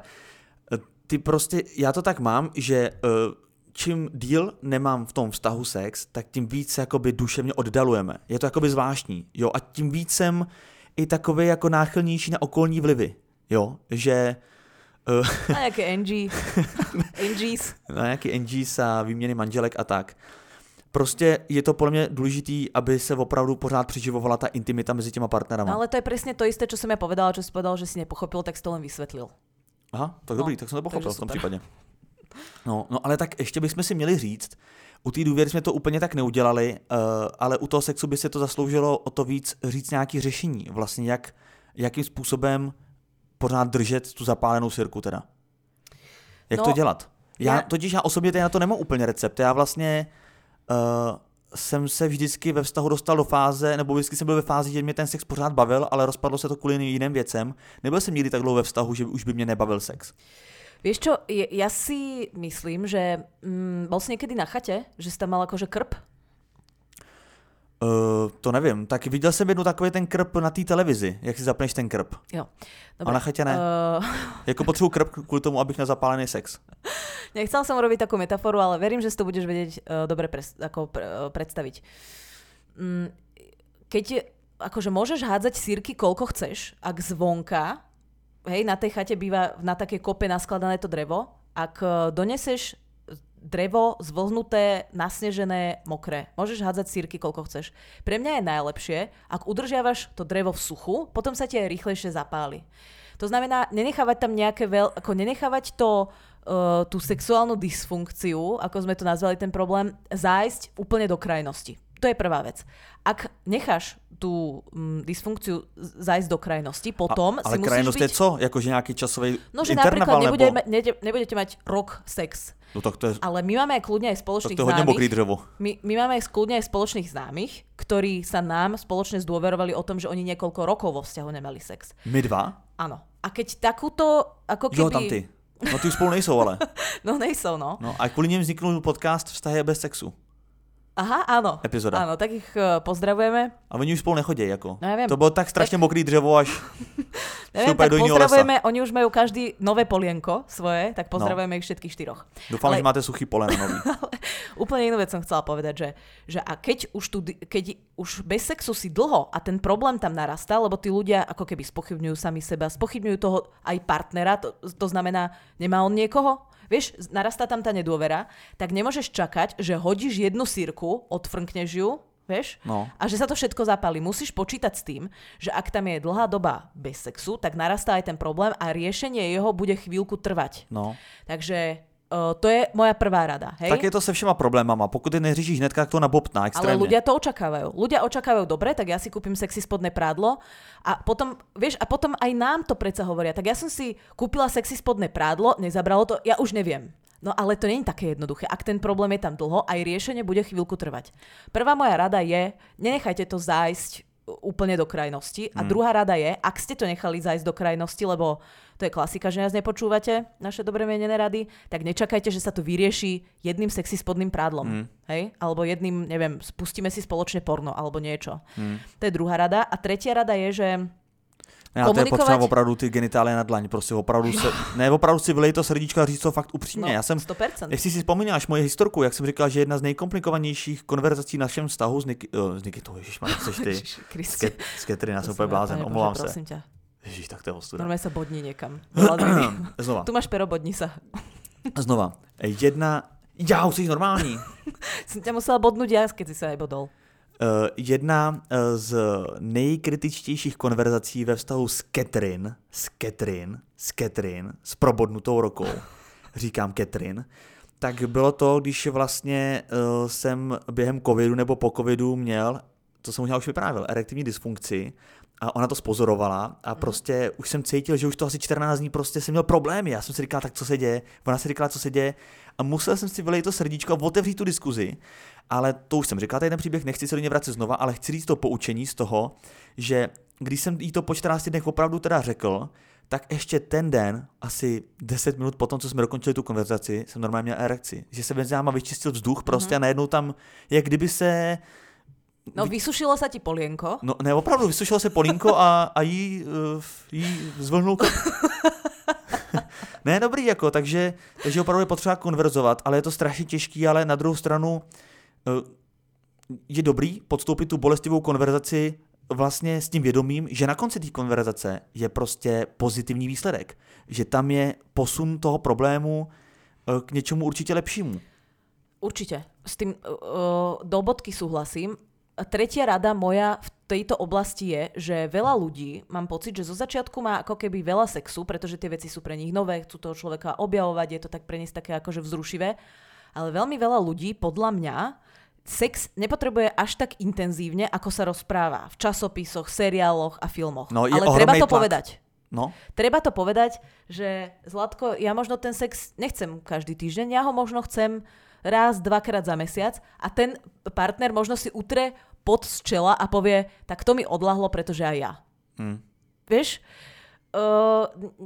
ty prostě, já to tak mám, že čím díl nemám v tom vztahu sex, tak tím víc se jakoby duševně oddalujeme. Je to jakoby zvláštní. Jo? A tím víc jsem i takový jako náchylnější na okolní vlivy. Jo? Že... Na nějaké N G. N Gs. Na nějaké N Gs a výměny manželek a tak. Prostě je to podľa mňa dôležitý, aby sa opravdu pořád přiživovala tá intimita mezi těma partnerama. No ale to je presne to isté, čo som ja povedala, čo si povedal, že si nepochopil, tak si to len vysvetlil. Aha, tak no, dobrý, tak som to pochopil v tom případě. No, no ale tak ještě bychom si měli říct, u té důvěry jsme to úplně tak neudělali, uh, ale u toho sexu by se to zasloužilo o to víc říct nějaké řešení. Vlastně jak, jakým způsobem pořád držet tu zapálenou sirku teda. Jak no, to dělat? Já, já totiž já osobně na to nemám úplně recept. Já vlastně Uh, jsem se vždycky ve vztahu dostal do fáze, nebo vždycky jsem byl ve fázi, že mě ten sex pořád bavil, ale rozpadlo se to kvůli jiným věcem. Nebyl jsem nikdy tak dlouho ve vztahu, že už by mě nebavil sex. Vieš čo, ja si myslím, že mm, bol si niekedy na chate, že si tam mal akože krp? Uh, to nevím. Tak viděl jsem jednu takový ten krp na té televizi, jak si zapneš ten krp. Jo. Dobre. A na chatě ne. Uh... Jako potřebuji krp kvůli tomu, abych nezapálený sex. Nechcel som robiť takú metaforu, ale verím, že si to budeš vedieť uh, dobre pres, ako, pre, uh, predstaviť. Mm, keď akože môžeš hádzať sírky koľko chceš, ak zvonka, hej, na tej chate býva na takej kope naskladané to drevo, ak uh, doneseš drevo zvlhnuté, nasnežené, mokré. Môžeš hádzať sírky koľko chceš. Pre mňa je najlepšie, ak udržiavaš to drevo v suchu, potom sa ti aj rýchlejšie zapáli. To znamená, nenechávať tam nejaké veľ... ako nenechávať to Uh, tú sexuálnu dysfunkciu, ako sme to nazvali ten problém, zájsť úplne do krajnosti. To je prvá vec. Ak necháš tú um, dysfunkciu zájsť do krajnosti, potom a, ale si musíš krajnosť byť... je co? Jakože nejaký časový no, že interval, napríklad nebude, nebo... ne, nebudete mať rok sex. No, tak to je... Ale my máme aj kľudne aj spoločných tak to je hodne mokrý známych. drevo. My, my máme aj kľudne aj spoločných známych, ktorí sa nám spoločne zdôverovali o tom, že oni niekoľko rokov vo vzťahu nemali sex. My dva? Áno. A keď takúto, ako keby... Jo, tam ty. No ty už spolu nejsou, ale. No nejsou, no. No a kvůli ním vzniknul podcast Vztahy bez sexu. Aha, áno. Epizoda. Áno, tak ich uh, pozdravujeme. A oni už spolu nechodí, jako. No ja viem. To bylo tak strašně tak... mokrý dřevo, až neviem, tak pozdravujeme, lesa. Oni už majú každý nové polienko svoje, tak pozdravujeme no. ich všetkých štyroch. Dúfam, ale... že máte suchý poleno nový. Úplne inú vec som chcela povedať, že, že a keď už, tu, keď už bez sexu si dlho a ten problém tam narastá, lebo tí ľudia ako keby spochybňujú sami seba, spochybňujú toho aj partnera, to, to znamená, nemá on niekoho? Vieš, narastá tam tá nedôvera, tak nemôžeš čakať, že hodíš jednu sírku, odfrnkneš ju, vieš, no. a že sa to všetko zapálí. Musíš počítať s tým, že ak tam je dlhá doba bez sexu, tak narastá aj ten problém a riešenie jeho bude chvíľku trvať. No. Takže Uh, to je moja prvá rada, hej? Tak je to se všema problémama. Pokud je neřešíš hnedka, tak to nabobtná extrémne. Ale ľudia to očakávajú. Ľudia očakávajú, dobre, tak ja si kúpim sexy spodné prádlo a potom, vieš, a potom aj nám to predsa hovoria. Tak ja som si kúpila sexy spodné prádlo, nezabralo to, ja už neviem. No ale to nie je také jednoduché. Ak ten problém je tam dlho, aj riešenie bude chvíľku trvať. Prvá moja rada je, nenechajte to zájsť úplne do krajnosti. A hmm. druhá rada je, ak ste to nechali zájsť do krajnosti, lebo to je klasika, že nás nepočúvate, naše dobre mienené rady, tak nečakajte, že sa to vyrieši jedným sexy spodným prádlom. Mm. Hej? Alebo jedným, neviem, spustíme si spoločne porno, alebo niečo. Mm. To je druhá rada. A tretia rada je, že ne, komunikovať... to je potřeba opravdu ty genitálie na dlaň, prostě opravdu se, ne, opravdu si vylej to srdíčko a říct to fakt upřímně. No, já jsem, sto percent. Jestli si vzpomínáš moje historku, jak jsem říkal, že jedna z nejkomplikovanějších konverzací v našem vztahu s, Niky, uh, s Nikitou, ježišmarja, chceš ty, s Catherine, já jsem úplně blázen, omlouvám se. Prosím ťa. Ježiš, tak to je ostuda. Normálne sa bodni niekam. Znova. Tu máš pero, bodni sa. Znova. Jedna... Já, už jsi normální. Jsem ťa musela bodnúť ja, keď si sa aj bodol. Uh, jedna uh, z nejkritičtějších konverzací ve vztahu s Catherine, s Catherine, s Catherine, s probodnutou rokou, říkám Catherine, tak bylo to, když vlastně uh, jsem během covidu nebo po covidu měl, to jsem možná už vyprávěl, erektivní dysfunkci, a ona to spozorovala a prostě už jsem cítil, že už to asi čtrnáct dní prostě jsem měl problémy. Já jsem si říkal, tak co se děje? Ona si říkala, co se děje a musel jsem si vylejt to srdíčko a otevřít tu diskuzi. Ale to už jsem říkal, tady ten příběh, nechci se do něj vracet znova, ale chci říct to poučení z toho, že když jsem jí to po čtrnácti dnech opravdu teda řekl, tak ještě ten den, asi deset minut potom, co jsme dokončili tu konverzaci, jsem normálně měl erekci. Že se mezi náma vyčistil vzduch prostě mm-hmm. a najednou tam, jak kdyby se... No vysušilo sa ti polienko. No ne, opravdu, vysušilo se polínko a, a jí, uh, jí zvlhnul kop. Ne, dobrý, jako, takže, takže opravdu je potřeba konverzovat, ale je to strašně těžký, ale na druhou stranu uh, je dobrý podstoupit tu bolestivou konverzaci vlastně s tím vědomím, že na konci té konverzace je prostě pozitivní výsledek. Že tam je posun toho problému uh, k něčemu určitě lepšímu. Určite. S tým uh, do bodky súhlasím. Tretia rada moja v tejto oblasti je, že veľa ľudí, mám pocit, že zo začiatku má ako keby veľa sexu, pretože tie veci sú pre nich nové, chcú toho človeka objavovať, je to tak pre nich také akože vzrušivé, ale veľmi veľa ľudí, podľa mňa, sex nepotrebuje až tak intenzívne, ako sa rozpráva v časopisoch, seriáloch a filmoch. No, ale treba to tlak. povedať. No. Treba to povedať, že Zlatko, ja možno ten sex nechcem každý týždeň, ja ho možno chcem raz, dvakrát za mesiac a ten partner možno si utre pot z čela a povie, tak to mi odľahlo, pretože aj ja. Hmm. Vieš? Uh,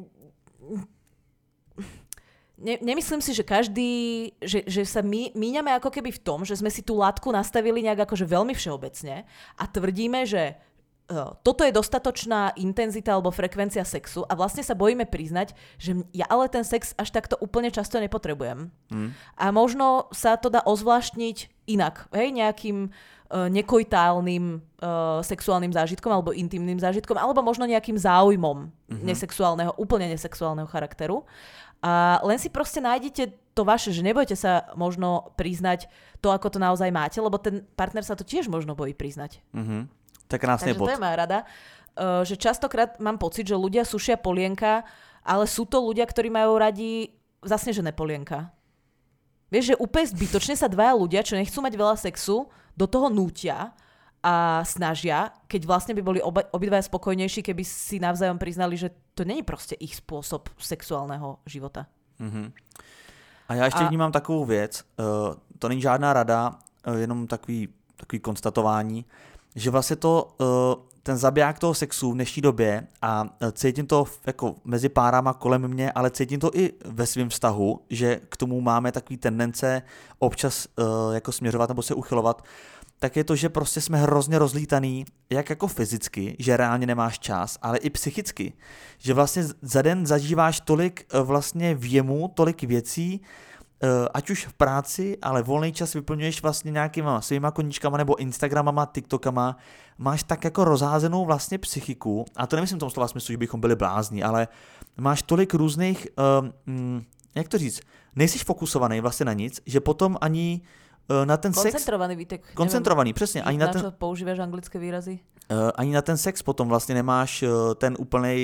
ne, nemyslím si, že každý, že, že sa my, míňame ako keby v tom, že sme si tú látku nastavili nejak akože veľmi všeobecne a tvrdíme, že uh, toto je dostatočná intenzita alebo frekvencia sexu a vlastne sa bojíme priznať, že ja ale ten sex až takto úplne často nepotrebujem. Hmm. A možno sa to dá ozvláštniť inak, hej, nejakým uh, nekojtálnym uh, sexuálnym zážitkom alebo intimným zážitkom, alebo možno nejakým záujmom mm-hmm. nesexuálneho, úplne nesexuálneho charakteru. A len si proste nájdete to vaše, že nebojte sa možno priznať to, ako to naozaj máte, lebo ten partner sa to tiež možno bojí priznať. Mm-hmm. Tak krásne bod. Takže to je moja rada, uh, že častokrát mám pocit, že ľudia sušia polienka, ale sú to ľudia, ktorí majú radi zasnežené polienka. Vieš, že úplne zbytočne sa dvaja ľudia, čo nechcú mať veľa sexu, do toho nútia a snažia, keď vlastne by boli oba, obidvaja spokojnejší, keby si navzájom priznali, že to není proste ich spôsob sexuálneho života. Mm-hmm. A já ještě a... vnímám takovou věc, uh, to není žádná rada, uh, jenom takový, takový konstatování, že vlastně to, uh, ten zabiják toho sexu v dnešní době a cítím to jako mezi párama kolem mě, ale cítím to i ve svém vztahu, že k tomu máme takový tendence občas uh, jako směřovat nebo se uchylovat, tak je to, že prostě jsme hrozně rozlítaný, jak jako fyzicky, že reálně nemáš čas, ale i psychicky. Že vlastně za den zažíváš tolik uh, vlastně věmu, tolik věcí, ať už v práci, ale volný čas vyplňuješ vlastně nějakýma svýma koníčkama nebo Instagramama, TikTokama, máš tak jako rozházenou vlastně psychiku, a to nemyslím v tom slova smyslu, že bychom byli blázni, ale máš tolik různých, um, jak to říct, nejsiš fokusovaný vlastně na nic, že potom ani uh, na ten sex... Koncentrovaný výtek. Koncentrovaný, nevím, přesně. Ani na, na ten, čo používáš anglické výrazy? Uh, ani na ten sex potom vlastně nemáš uh, ten úplnej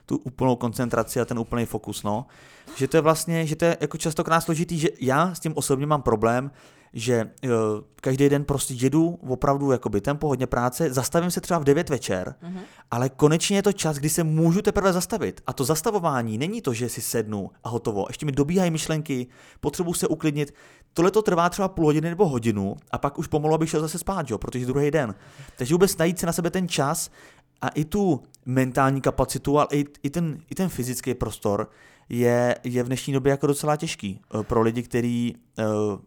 tu úplnou koncentraci a ten úplný fokus, no. Že to je vlastně, že to je jako častokrát složitý, že já s tím osobně mám problém, že uh, každý den prostě jedu opravdu jakoby tempo, hodně práce, zastavím se třeba v devět večer, mm-hmm. ale konečně je to čas, kdy se můžu teprve zastavit. A to zastavování není to, že si sednu a hotovo. Ještě mi dobíhají myšlenky, potřebuji se uklidnit. Tohle to trvá třeba půl hodiny nebo hodinu a pak už pomalu bych šel zase spát, jo, protože druhý den. Takže vůbec najít si na sebe ten čas a i tu mentální kapacitu, ale i, i, ten, i ten fyzický prostor je, je v dnešní době jako docela těžký pro lidi, kteří uh,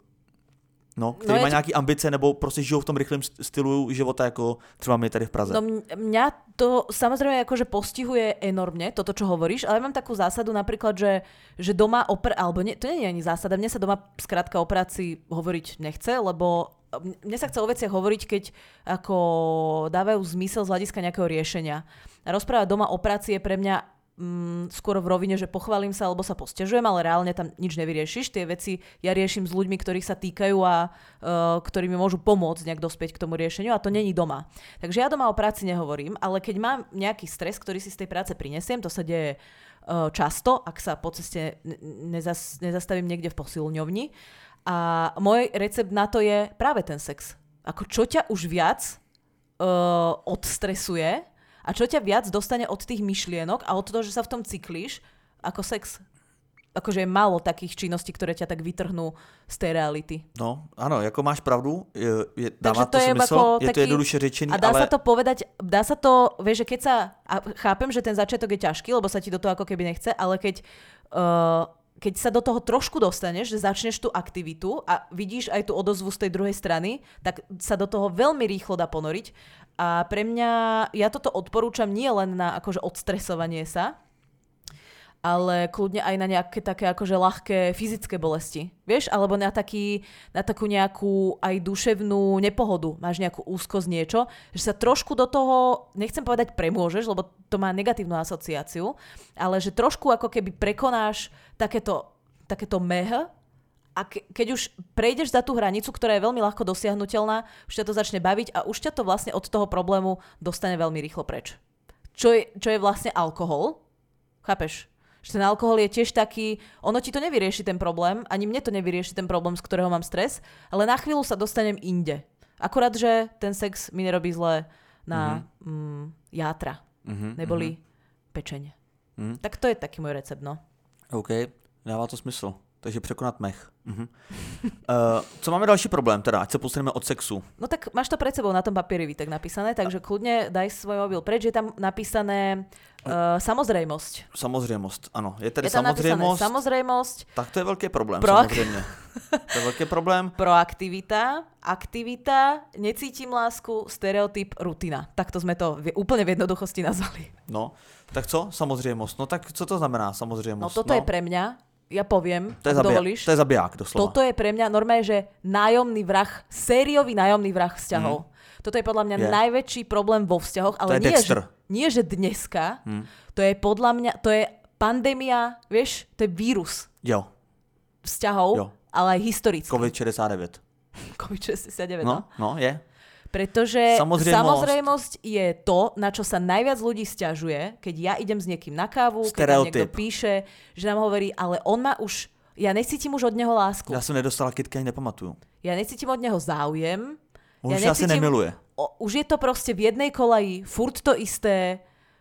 No, který no má nějaký ambice nebo prostě žijou v tom rychlém stylu života, jako třeba my tady v Praze. No mňa to samozrejme akože postihuje enormne, toto, čo hovoríš, ale ja mám takú zásadu napríklad, že, že doma o pr- alebo nie, to nie je ani zásada, mne sa doma skrátka o práci hovoriť nechce, lebo mne sa chce o veciach hovoriť, keď ako dávajú zmysel z hľadiska nejakého riešenia. A rozprávať doma o práci je pre mňa Mm, skôr v rovine, že pochválim sa alebo sa posťažujem, ale reálne tam nič nevyriešiš. Tie veci ja riešim s ľuďmi, ktorých sa týkajú a uh, ktorí mi môžu pomôcť nejak dospieť k tomu riešeniu a to není doma. Takže ja doma o práci nehovorím, ale keď mám nejaký stres, ktorý si z tej práce prinesiem, to sa deje uh, často, ak sa po ceste nezas, nezastavím niekde v posilňovni. A môj recept na to je práve ten sex. Ako čo ťa už viac uh, odstresuje a čo ťa viac dostane od tých myšlienok a od toho, že sa v tom cyklíš, ako sex. Akože je málo takých činností, ktoré ťa tak vytrhnú z tej reality. No, áno, ako máš pravdu, je, je, dáva to, to smysl, je taký, to jednoduše řečený, a dá ale... sa to povedať, dá sa to, vieš, že keď sa, a chápem, že ten začiatok je ťažký, lebo sa ti do toho ako keby nechce, ale keď, uh, keď sa do toho trošku dostaneš, že začneš tú aktivitu a vidíš aj tú odozvu z tej druhej strany, tak sa do toho veľmi rýchlo dá ponoriť. A pre mňa, ja toto odporúčam nie len na akože odstresovanie sa, ale kľudne aj na nejaké také akože ľahké fyzické bolesti. Vieš? Alebo na, taký, na takú nejakú aj duševnú nepohodu. Máš nejakú úzkosť, niečo, že sa trošku do toho, nechcem povedať premôžeš, lebo to má negatívnu asociáciu, ale že trošku ako keby prekonáš takéto, takéto meh. A ke, keď už prejdeš za tú hranicu, ktorá je veľmi ľahko dosiahnuteľná, už ťa to začne baviť a už ťa to vlastne od toho problému dostane veľmi rýchlo preč. Čo je, čo je vlastne alkohol. Chápeš? Že ten alkohol je tiež taký, ono ti to nevyrieši ten problém, ani mne to nevyrieši ten problém, z ktorého mám stres, ale na chvíľu sa dostanem inde. Akurát, že ten sex mi nerobí zle na mm-hmm. mm, játra, mm-hmm, neboli mm-hmm. pečeň. Mm-hmm. Tak to je taký môj recept, no. OK, dává to smysl. Takže překonat mech. Uh-huh. Uh, co máme další problém teda, ať se posuneme od sexu? No tak máš to pred sebou na tom papieri tak napísané, takže kľudne daj svoj mobil preč, je tam napísané uh, samozrejmosť. Samozrejmosť, ano. Je tady je tam samozrejmosť. samozrejmosť. Tak to je velký problém, Proak- samozřejmě. To je velký problém. Proaktivita, aktivita, necítim lásku, stereotyp, rutina. Takto sme to v, úplne v jednoduchosti nazvali. No, tak co? Samozrejmosť. No tak co to znamená samozrejmosť? No toto no. je pre mňa, ja poviem, to je ak zabijak, dovolíš. To je zabiják, doslova. Toto je pre mňa normálne, že nájomný vrah, sériový nájomný vrah vzťahov. Mm. Toto je podľa mňa je. najväčší problém vo vzťahoch, ale nie že, nie, že dneska. Mm. To je podľa mňa, to je pandémia, vieš, to je vírus. Jo. Vzťahov, jo. Ale aj historicky. covid šedesát devět. covid šedesát deväť, no. No, je. Pretože samozrejmosť. samozrejmosť je to, na čo sa najviac ľudí sťažuje, keď ja idem s niekým na kávu, Stereotyp. keď nám niekto píše, že nám hovorí, ale on má už, ja necítim už od neho lásku. Ja som nedostala kitky, ani nepamatuju. Ja necítim od neho záujem. On ja už asi nemiluje. O, už je to proste v jednej kolaji, furt to isté.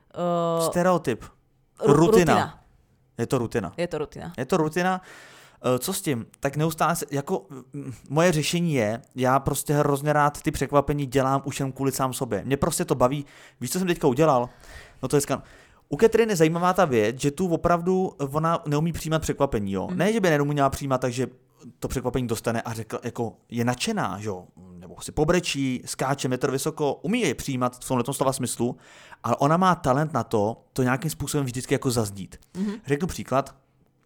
Uh, Stereotyp. R- rutina. rutina. Je to rutina. Je to rutina. Je to rutina. Co s tím? Tak neustále se, jako moje řešení je, já prostě hrozně rád ty překvapení dělám už jen kvůli sám sobě. Mě prostě to baví. Víš, co jsem teďka udělal? No to je skvělé. U Catherine je zajímavá ta věc, že tu opravdu ona neumí přijímat překvapení, jo. Mm. Ne, že by neuměla přijímat, takže to překvapení dostane a řekl, jako je nadšená, jo, nebo si pobrečí, skáče metr vysoko, umí je přijímat v tomhle slova smyslu, ale ona má talent na to, to nějakým způsobem vždycky jako zazdít. Mm. Řeknu příklad.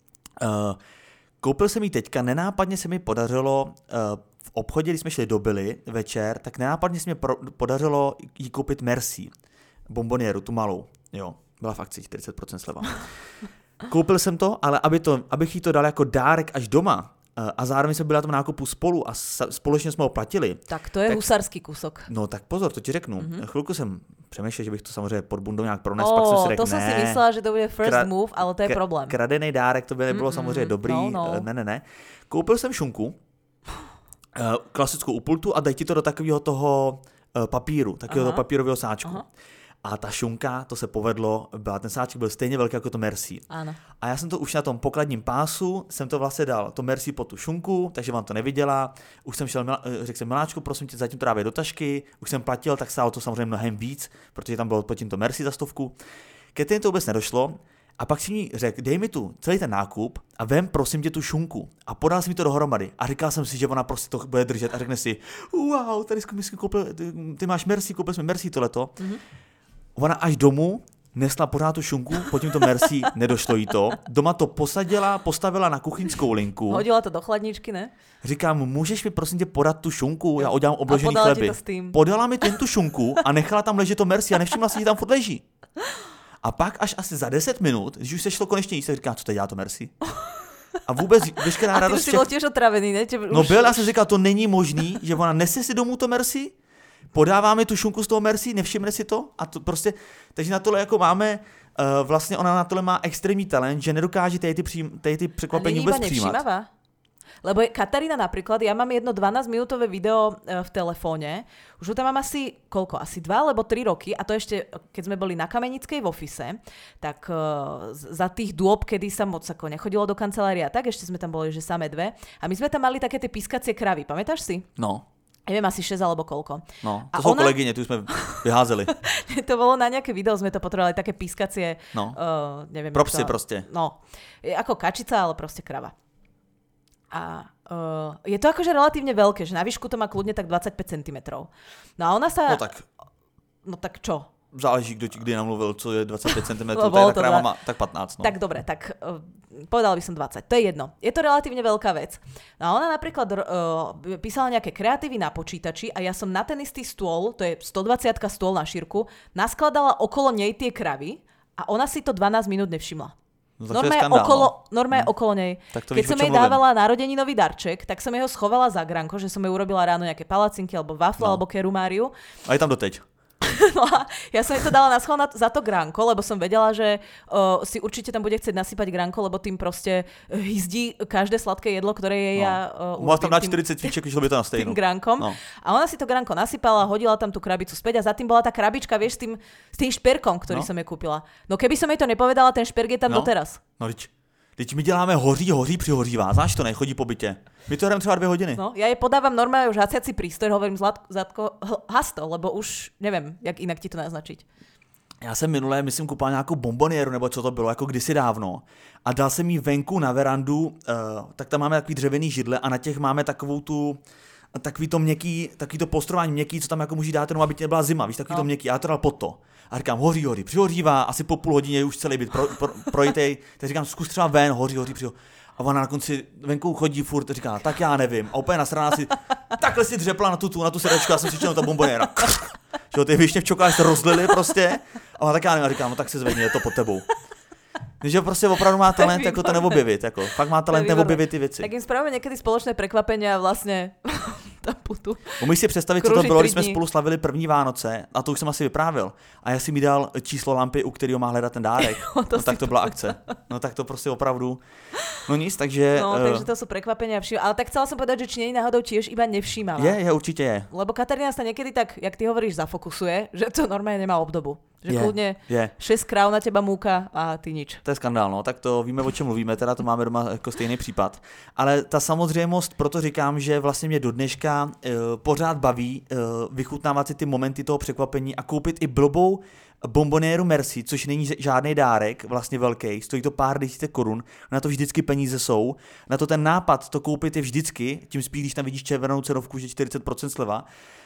Uh, Koupil jsem jí teďka, nenápadně se mi podařilo uh, v obchodě, když jsme šli do Billy večer, tak nenápadně se mi pro, podařilo jí koupit Merci, bombonieru, tu malou, jo, byla v akci čtyřicet procent sleva. Koupil jsem to, ale aby to, abych jí to dal jako dárek až doma, a zároveň jsme byli na tom nákupu spolu a společně jsme ho platili. Tak to je tak, husarský kusok. No tak pozor, to ti řeknu. Mm-hmm. Chvilku jsem přemýšlel, že bych to samozřejmě pod bundou nějak pronesl, oh, pak jsem si řekl, to jsem ne, si myslela, že to bude first kra- move, ale to je problém. Kradený dárek, to by nebylo mm-hmm. samozřejmě dobrý. No, no. Ne, ne, ne. Koupil jsem šunku, klasickou u pultu a dej ti to do takového toho papíru, takového toho papírového sáčku. Aha. A ta šunka, to se povedlo, byla, ten sáček byl stejně velký jako to Merci. Ano. A já jsem to už na tom pokladním pásu, jsem to vlastně dal, to Merci po tu šunku, takže vám to neviděla. Už jsem šel, řekl jsem, Miláčku, prosím tě, zatím to dávej do tašky. Už jsem platil, tak stálo to samozřejmě mnohem víc, protože tam bylo pod tím to Merci za stovku. Ke to vůbec nedošlo. A pak si mi řekl, dej mi tu celý ten nákup a vem prosím tě tu šunku. A podal si mi to dohromady. A říkal jsem si, že ona prostě to bude držet a řekne si, wow, tady jsi koupil, ty, ty máš Merci, koupil jsme Merci tohleto. Mm-hmm. Ona až domů nesla pořád tu šunku, potom to Merci, nedošlo jí to. Doma to posadila, postavila na kuchyňskou linku. Hodila to do chladničky, ne? Říkám, můžeš mi prosím tě podat tu šunku, já udělám obložený chleby. Podala mi ten tu šunku a nechala tam ležet to Merci a nevšimla si, že tam furt leží. A pak až asi za deset minut, když už se šlo konečně jíst, tak říká, co teď dělá to Merci. A vůbec veškerá radost... A ty už si byl těž otravený, ne? Tě, no byl, já jsem říkal, to není možný, že ona nese si domů to Merci, podává mi tu šunku z toho Merci, nevšimne si to a to prostě, takže na tohle jako máme, uh, vlastně ona na tohle má extrémní talent, že nedokáže tady ty, přijím, tady ty překvapení vůbec přijímat. Lebo Katarína napríklad, ja mám jedno dvanásťminútové video v telefóne, už ho tam mám asi, koľko, asi dva alebo tri roky a to ešte, keď sme boli na Kamenickej v office, tak uh, za tých dôb, kedy sa moc ako nechodilo do kancelária, tak ešte sme tam boli, že samé dve a my sme tam mali také tie pískacie kravy, pamätáš si? No. Neviem, asi šesť alebo koľko. No, to a sú ona... kolegyne, tu sme vyházeli. To bolo na nejaké video, sme to potrebovali, také pískacie, no. uh, neviem. Propsy proste. No, je ako kačica, ale proste krava. A uh, je to akože relatívne veľké, že na výšku to má kľudne tak dvadsaťpäť centimetrov. No a ona sa... No tak... No tak čo? Záleží, kdo ti kdy namluvil, co je dvadsaťpäť centimetrov, no, tá kráva má tak pätnásť. No. Tak dobre, tak uh, povedala by som dvadsať, to je jedno. Je to relatívne veľká vec. No a ona napríklad uh, písala nejaké kreatívy na počítači a ja som na ten istý stôl, to je stodvadsiatka stôl na šírku, naskladala okolo nej tie kravy a ona si to dvanásť minút nevšimla. No, Norma je okolo, norma je okolo nej. Keď víš, som jej dávala narodeninový darček, tak som jej ho schovala za granko, že som jej urobila ráno nejaké palacinky, alebo wafle, no. alebo kerumáriu. A je tam doteď. No a ja som jej to dala na schvál za to granko, lebo som vedela, že uh, si určite tam bude chcieť nasypať granko, lebo tým proste hyzdí každé sladké jedlo, ktoré jej no. ja uh, urobím tam na štyridsať fíček, išlo by to na stejnú. Tým grankom. No. A ona si to granko nasypala, hodila tam tú krabicu späť a za tým bola tá krabička, vieš, s tým, s tým šperkom, ktorý no. som jej kúpila. No keby som jej to nepovedala, ten šperk je tam no. doteraz. No lič. Teď my děláme hoří, hoří, přihořívá. Znáš to, nechodí po bytě. My to hrajeme třeba dvě hodiny. No, ja jej podávam normálne už hasiaci prístroj, hovorím Zlatko, has to, lebo už neviem, jak inak ti to naznačiť. Já jsem minulé, myslím, kupoval nějakou bombonieru, nebo co to bylo, jako kdysi dávno. A dal jsem jí venku na verandu, uh, tak tam máme takový dřevěný židle a na těch máme takovou tu, takový to měkký, takový to postrování měkký, co tam jako může dát, no, aby tě nebyla zima, víš, takový no. to měkký. A já to dal pod to. A říkám, hoří, hoří, přihořívá, asi po půl hodině už celý byt pro, pro, projitej. Tak říkám, zkus třeba ven, hoří, hoří, přihoří. A ona na konci venku chodí furt, říká, tak já nevím. A úplně nasraná si, takhle si dřepla na tu, tu, na tu sedačku, já jsem si čel ta bombonéra. Že ty višně v čokoládě se rozlily prostě. A ona tak já nevím, a říkám, no tak si zvedni, je to pod tebou. Takže prostě opravdu má talent jako to neobjevit, jako. Fakt má talent neobjevit ty věci. Tak jim spravíme někdy společné překvapení a vlastně tam putu. Umíš si představit, co to bylo, když jsme spolu slavili první Vánoce, a to už jsem asi vyprávěl. A já si mi dal číslo lampy, u kterého má hledat ten dárek. Jo, to no tak to byla akce. No tak to prostě opravdu. No nic, takže... No, uh... takže to jsou překvapení a všim. Ale tak chcela jsem povedať, že či nie náhodou tiež iba nevšímala. Je, je, určitě je. Lebo Katarína sa niekedy tak, jak ty hovoríš, zafokusuje, že to normálně nemá obdobu. Že je, kľudne je. šesť kráv na teba múka a ty nič. To je skandál, no, tak to víme, o čem mluvíme, teda to máme doma jako stejný případ. Ale ta samozřejmost, proto říkám, že vlastně mě do dneška uh, pořád baví uh, vychutnávat si ty momenty toho překvapení a koupit i blbou bombonéru Merci, což není žádný dárek, vlastně velký, stojí to pár desítek korun, na to vždycky peníze jsou, na to ten nápad to koupit je vždycky, tím spíš, když tam vidíš červenou cenovku, že čtyřicet procent sleva,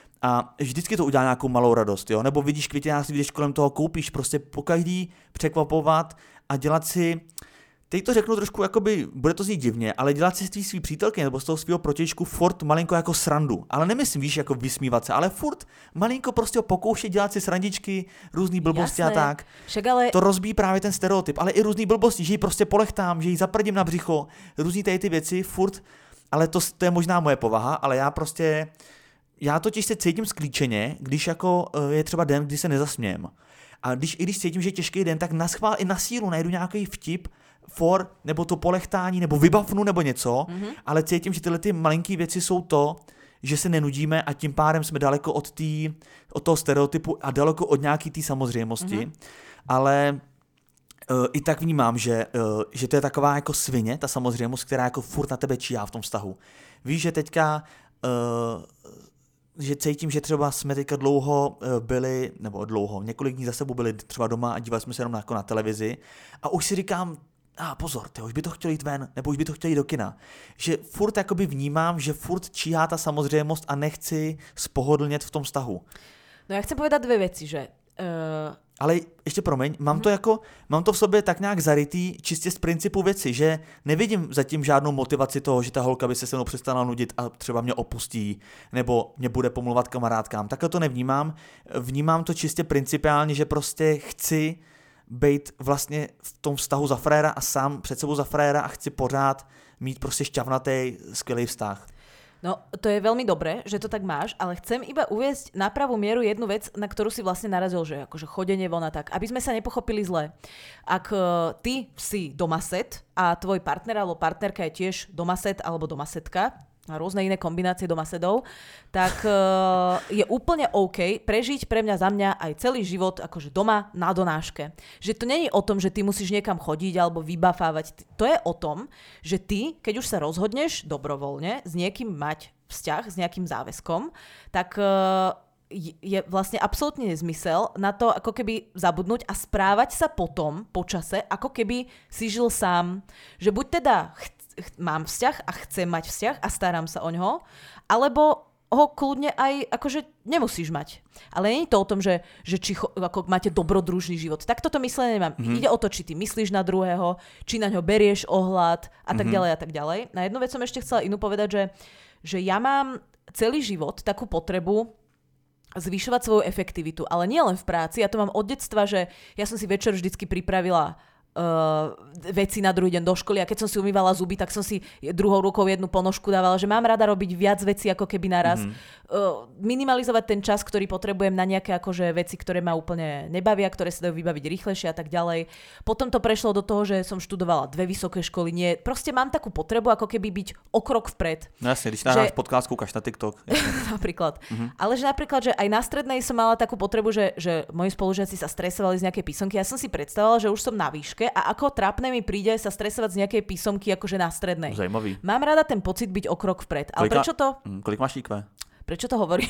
a vždycky to udělá nějakou malou radost, jo? Nebo vidíš květinářství, když kolem toho koupíš, prostě pokaždý překvapovat a dělat si, teď to řeknu trošku, jakoby, bude to znít divně, ale dělat si z té svý přítelky nebo z toho svého protějšku furt malinko jako srandu. Ale nemyslím, víš, jako vysmívat se, ale furt malinko prostě pokoušet dělat si srandičky, různý blbosti. Jasné. A tak. Ale... To rozbíjí právě ten stereotyp, ale i různý blbosti, že ji prostě polechtám, že ji zaprdím na břicho, různý tady ty věci, furt ale to, to je možná moje povaha, ale já prostě, já totiž se cítím sklíčeně, když jako je třeba den, kdy se nezasmějem. A když, i když cítím, že je těžký den, tak naschvál i na sílu najdu nějaký vtip, for, nebo to polechtání, nebo vybavnu, nebo něco, mm-hmm. ale cítím, že tyhle ty malinký věci jsou to, že se nenudíme a tím pádem jsme daleko od, tý, od toho stereotypu a daleko od nějaký té samozřejmosti. Mm-hmm. Ale uh, i tak vnímám, že, uh, že to je taková jako svině, ta samozřejmost, která jako furt na tebe číhá v tom vztahu. Víš, že teďka uh, že cítím, že třeba jsme teďka dlouho byli, nebo dlouho, několik dní za sebou byli třeba doma a dívali jsme se jenom jako na televizi a už si říkám, a ah, pozor, tyjo, už by to chtěl jít ven, nebo už by to chtěl jít do kina. Že furt jakoby vnímám, že furt číhá ta samozřejmost a nechci spohodlnět v tom vztahu. No já chcem povedať dvě věci, že... Uh... Ale ještě promiň, mám to jako, mám to v sobě tak nějak zarytý čistě z principu věci, že nevidím zatím žádnou motivaci toho, že ta holka by se se mnou přestala nudit a třeba mě opustí, nebo mě bude pomluvat kamarádkám. Takhle to nevnímám. Vnímám to čistě principiálně, že prostě chci být vlastně v tom vztahu za fréra a sám před sebou za fréra a chci pořád mít prostě šťavnatý, skvělý vztah. No, to je veľmi dobré, že to tak máš, ale chcem iba uviesť na pravú mieru jednu vec, na ktorú si vlastne narazil, že akože chodenie von a tak, aby sme sa nepochopili zle. Ak uh, ty si domaset a tvoj partner alebo partnerka je tiež domaset alebo domasetka, a rôzne iné kombinácie domasedov, tak uh, je úplne OK prežiť pre mňa za mňa aj celý život akože doma na donáške. Že to nie je o tom, že ty musíš niekam chodiť alebo vybafávať. To je o tom, že ty, keď už sa rozhodneš dobrovoľne s niekým mať vzťah, s nejakým záväzkom, tak uh, je vlastne absolútne nezmysel na to ako keby zabudnúť a správať sa potom, po čase, ako keby si žil sám. Že buď teda ch- ch- mám vzťah a chcem mať vzťah a starám sa o ňoho, alebo ho kľudne aj akože nemusíš mať. Ale nie je to o tom, že, že či cho- ako máte dobrodružný život. Tak toto myslenie nemám. Mm-hmm. Ide o to, či ty myslíš na druhého, či na ňo berieš ohľad a tak mm-hmm. ďalej a tak ďalej. Na jednu vec som ešte chcela inú povedať, že, že ja mám celý život takú potrebu zvyšovať svoju efektivitu, ale nie len v práci. Ja to mám od detstva, že ja som si večer vždycky pripravila uh, veci na druhý deň do školy a keď som si umývala zuby, tak som si druhou rukou jednu ponožku dávala, že mám rada robiť viac vecí ako keby naraz. Mm-hmm. Uh, minimalizovať ten čas, ktorý potrebujem na nejaké akože veci, ktoré ma úplne nebavia, ktoré sa dajú vybaviť rýchlejšie a tak ďalej. Potom to prešlo do toho, že som študovala dve vysoké školy. Nie, proste mám takú potrebu ako keby byť o krok vpred. No jasne, když nahráš že... podcast, kúkaš na TikTok. Napríklad. Mm-hmm. Ale že napríklad, že aj na strednej som mala takú potrebu, že, že moji spolužiaci sa stresovali z nejakej písomky. Ja som si predstavovala, že už som na výške a ako trápne mi príde sa stresovať z nejakej písomky akože na strednej. Zajímavý. Mám rada ten pocit byť o krok vpred. Ale prečo to... Mm, kolik máš í kvé? Prečo to hovorím?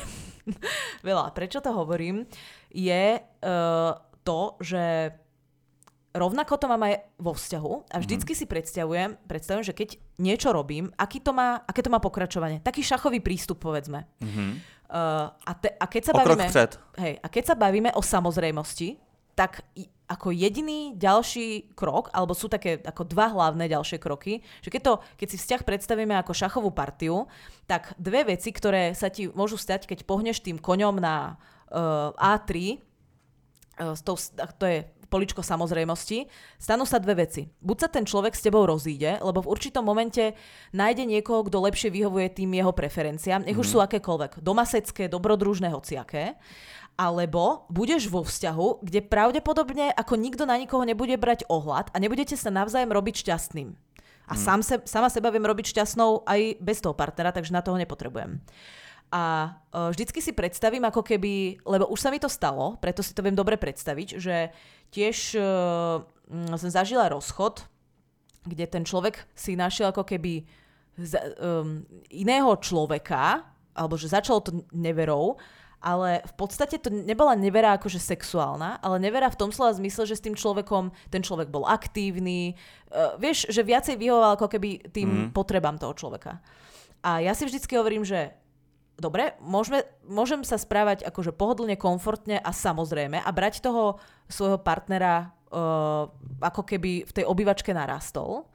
Veľa. Prečo to hovorím? Je uh, to, že rovnako to mám aj vo vzťahu a vždycky mm-hmm. si predstavujem, predstavujem, že keď niečo robím, aký to má, aké to má pokračovanie. Taký šachový prístup, povedzme. Mm-hmm. Uh, a, te, a, keď sa bavíme, hej, a keď sa bavíme o samozrejmosti, tak ako jediný ďalší krok, alebo sú také ako dva hlavné ďalšie kroky, že keď, to, keď si vzťah predstavíme ako šachovú partiu, tak dve veci, ktoré sa ti môžu stať, keď pohneš tým koňom na uh, á tri, uh, to, to je poličko samozrejmosti, stanú sa dve veci. Buď sa ten človek s tebou rozíde, lebo v určitom momente nájde niekoho, kto lepšie vyhovuje tým jeho preferenciám, nech už mm. sú akékoľvek, domasecké, dobrodružné, hociaké, alebo budeš vo vzťahu, kde pravdepodobne ako nikto na nikoho nebude brať ohľad a nebudete sa navzájom robiť šťastným. A mm. sám se, sama seba viem robiť šťastnou aj bez toho partnera, takže na toho nepotrebujem. A uh, vždycky si predstavím ako keby, lebo už sa mi to stalo, preto si to viem dobre predstaviť, že tiež uh, som zažila rozchod, kde ten človek si našiel ako keby z, um, iného človeka, alebo že začalo to neverou, ale v podstate to nebola nevera akože sexuálna, ale nevera v tom slova zmysle, že s tým človekom, ten človek bol aktívny, uh, vieš, že viacej vyhovoval ako keby tým mm. potrebám toho človeka. A ja si vždycky hovorím, že dobre, môžeme, môžem sa správať akože pohodlne, komfortne a samozrejme a brať toho svojho partnera uh, ako keby v tej obývačke narastol.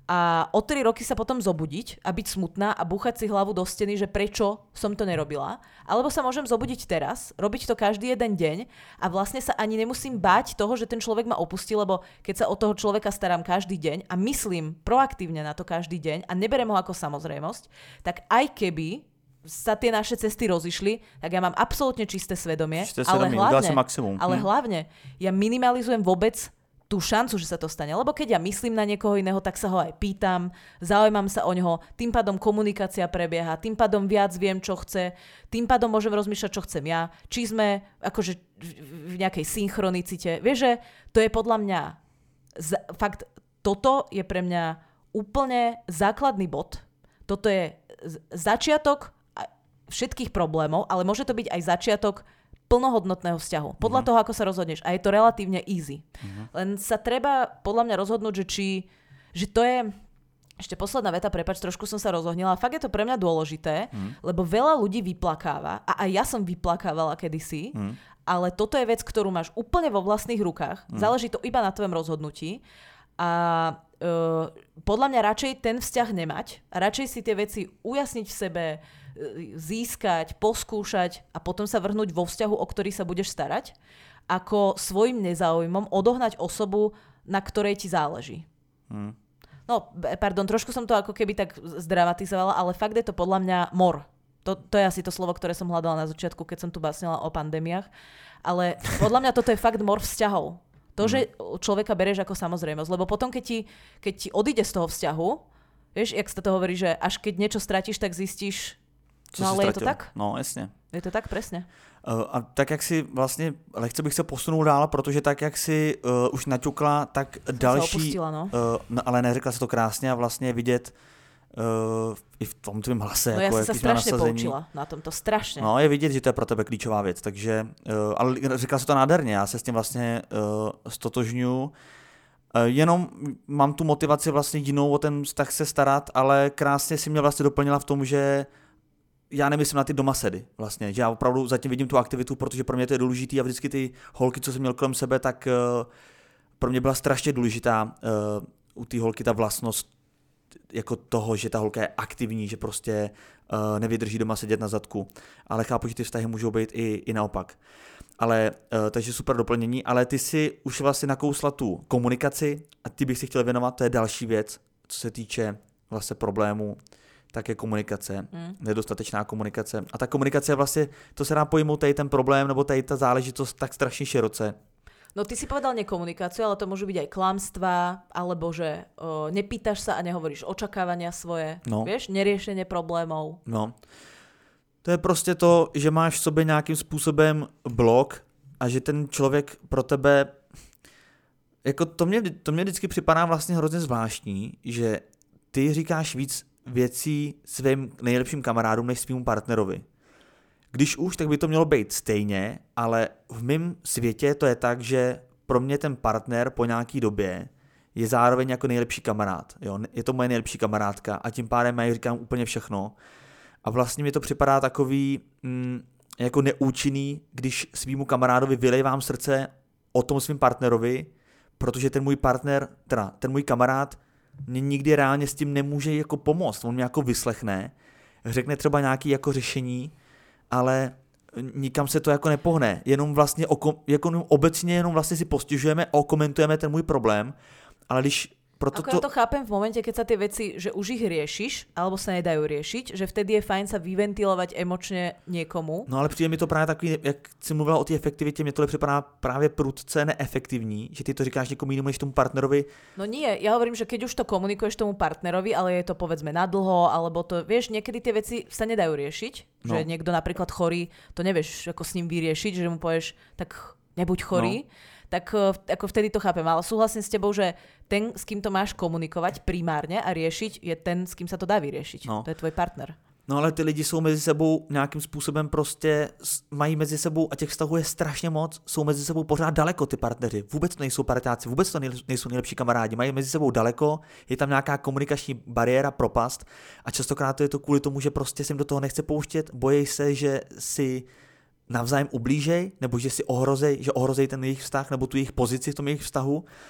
a o tri roky sa potom zobudiť a byť smutná a búchať si hlavu do steny, že prečo som to nerobila. Alebo sa môžem zobudiť teraz, robiť to každý jeden deň a vlastne sa ani nemusím báť toho, že ten človek ma opustí, lebo keď sa o toho človeka starám každý deň a myslím proaktívne na to každý deň a neberem ho ako samozrejmosť, tak aj keby sa tie naše cesty rozišli, tak ja mám absolútne čisté svedomie, čisté ale svedomie, hlavne, maximum. ale hm. hlavne ja minimalizujem vôbec tú šancu, že sa to stane. Lebo keď ja myslím na niekoho iného, tak sa ho aj pýtam, zaujímam sa o neho, tým pádom komunikácia prebieha, tým pádom viac viem, čo chce, tým pádom môžem rozmýšľať, čo chcem ja, či sme akože v nejakej synchronicite. Vieš, že to je podľa mňa z- fakt, toto je pre mňa úplne základný bod. Toto je z- začiatok všetkých problémov, ale môže to byť aj začiatok plnohodnotného vzťahu. Podľa uh-huh. toho, ako sa rozhodneš. A je to relatívne easy. Uh-huh. Len sa treba podľa mňa rozhodnúť, že či... Že to je... Ešte posledná veta, prepáč, trošku som sa rozohnila. Fakt je to pre mňa dôležité, uh-huh. lebo veľa ľudí vyplakáva. A aj ja som vyplakávala kedysi. Uh-huh. Ale toto je vec, ktorú máš úplne vo vlastných rukách. Uh-huh. Záleží to iba na tvojom rozhodnutí. A uh, podľa mňa radšej ten vzťah nemať. A radšej si tie veci ujasniť v sebe, získať, poskúšať a potom sa vrhnúť vo vzťahu, o ktorý sa budeš starať, ako svojim nezáujmom odohnať osobu, na ktorej ti záleží. Hmm. No, pardon, trošku som to ako keby tak zdramatizovala, ale fakt je to podľa mňa mor. To, to je asi to slovo, ktoré som hľadala na začiatku, keď som tu básnila o pandémiách. Ale podľa mňa toto je fakt mor vzťahov. To, že človeka bereš ako samozrejmosť. Lebo potom, keď ti, keď ti odíde z toho vzťahu, vieš, jak sa to hovorí, že až keď niečo stratíš, tak zistíš. Co no ale je to tak? No, jasně. Je to tak, presne. Uh, a tak, jak si vlastně, lehce bych se posunul dál, protože tak, jak si uh, už naťukla, tak Jsem další, opustila, no. uh, no, ale neřekla se to krásně a vlastně vidět uh, i v tom tvým hlase. No jako, ja som sa strašne poučila na tomto, strašne. No, je vidět, že to je pro tebe klíčová věc, takže, uh, ale řekla se to nádherně, já se s tím vlastně uh, stotožňuju. Uh, jenom mám tu motivaci vlastně jinou o ten vztah se starat, ale krásně si mě vlastně doplnila v tom, že já nemyslím na ty domasedy vlastně, že já opravdu zatím vidím tu aktivitu, protože pro mě to je důležitý a vždycky ty holky, co jsem měl kolem sebe, tak uh, pro mě byla strašně důležitá uh, u té holky ta vlastnost jako toho, že ta holka je aktivní, že prostě uh, nevydrží doma sedět na zadku, ale chápu, že ty vztahy můžou být i, i naopak. Ale, uh, takže super doplnění, ale ty si už vlastně nakousla tu komunikaci a ty bych si chtěl věnovat, to je další věc, co se týče vlastně problémů, také komunikace, mm. nedostatečná komunikace. A ta komunikace je vlastně, to se dá pojmout tady ten problém, nebo tady ta záležitost tak strašně široce. No ty si povedal nekomunikáciu, ale to môžu byť aj klamstvá, alebo že o, nepýtaš sa a nehovoríš očakávania svoje, no. Vieš, neriešenie problémov. No, to je prostě to, že máš v sobě nějakým způsobem blok a že ten člověk pro tebe, jako to mě, to mě vždycky připadá vlastně hrozně zvláštní, že ty říkáš víc věcí svým nejlepším kamarádům než svým partnerovi. Když už, tak by to mělo být stejně, ale v mém světě to je tak, že pro mě ten partner po nějaký době je zároveň jako nejlepší kamarád. Jo? Je to moje nejlepší kamarádka a tím pádem já jí říkám úplně všechno. A vlastně mi to připadá takový mm, jako neúčinný, když svýmu kamarádovi vylejvám srdce o tom svým partnerovi, protože ten můj partner, teda ten můj kamarád mě nikdy reálně s tím nemůže jako pomoct. On mě jako vyslechne, řekne třeba nějaké jako řešení, ale nikam se to jako nepohne. Jenom vlastně oko, jako obecně jenom vlastně si postižujeme a okomentujeme ten můj problém, ale když proto Ako to... ja to chápem v momente, keď sa tie veci, že už ich riešiš, alebo sa nedajú riešiť, že vtedy je fajn sa vyventilovať emočne niekomu. No ale přijde mi to právě takový, jak jsi mluvila o té efektivitě, mě tohle připadá právě prudce neefektivní, že ty to říkáš někomu jinému než tomu partnerovi. No nie, ja hovorím, že keď už to komunikuješ tomu partnerovi, ale je to povedzme nadlho, alebo to, vieš, niekedy tie veci sa nedajú riešiť, no. Že niekto napríklad chorý, to nevieš ako s ním vyriešiť, že mu povieš, tak nebuď chorý. No. Tak ako vtedy to chápem, ale súhlasím s tebou, že ten, s kým to máš komunikovať primárne a riešiť, je ten, s kým sa to dá vyriešiť. No. To je tvoj partner. No ale ty lidi jsou mezi sebou nějakým způsobem prostě, mají mezi sebou, a těch vztahů je strašně moc, jsou mezi sebou pořád daleko ty partneři. Vůbec to nejsou parťáci, vůbec to nejsou nejlepší kamarádi, mají mezi sebou daleko, je tam nějaká komunikační bariéra, propast a častokrát to je to kvůli tomu, že prostě se jim do toho nechce pouštět, bojí se, že si navzájem ublížej, nebo že si ohrozej, že ohrozej ten jejich vztah, nebo tu jejich pozici v tom jejich vztahu.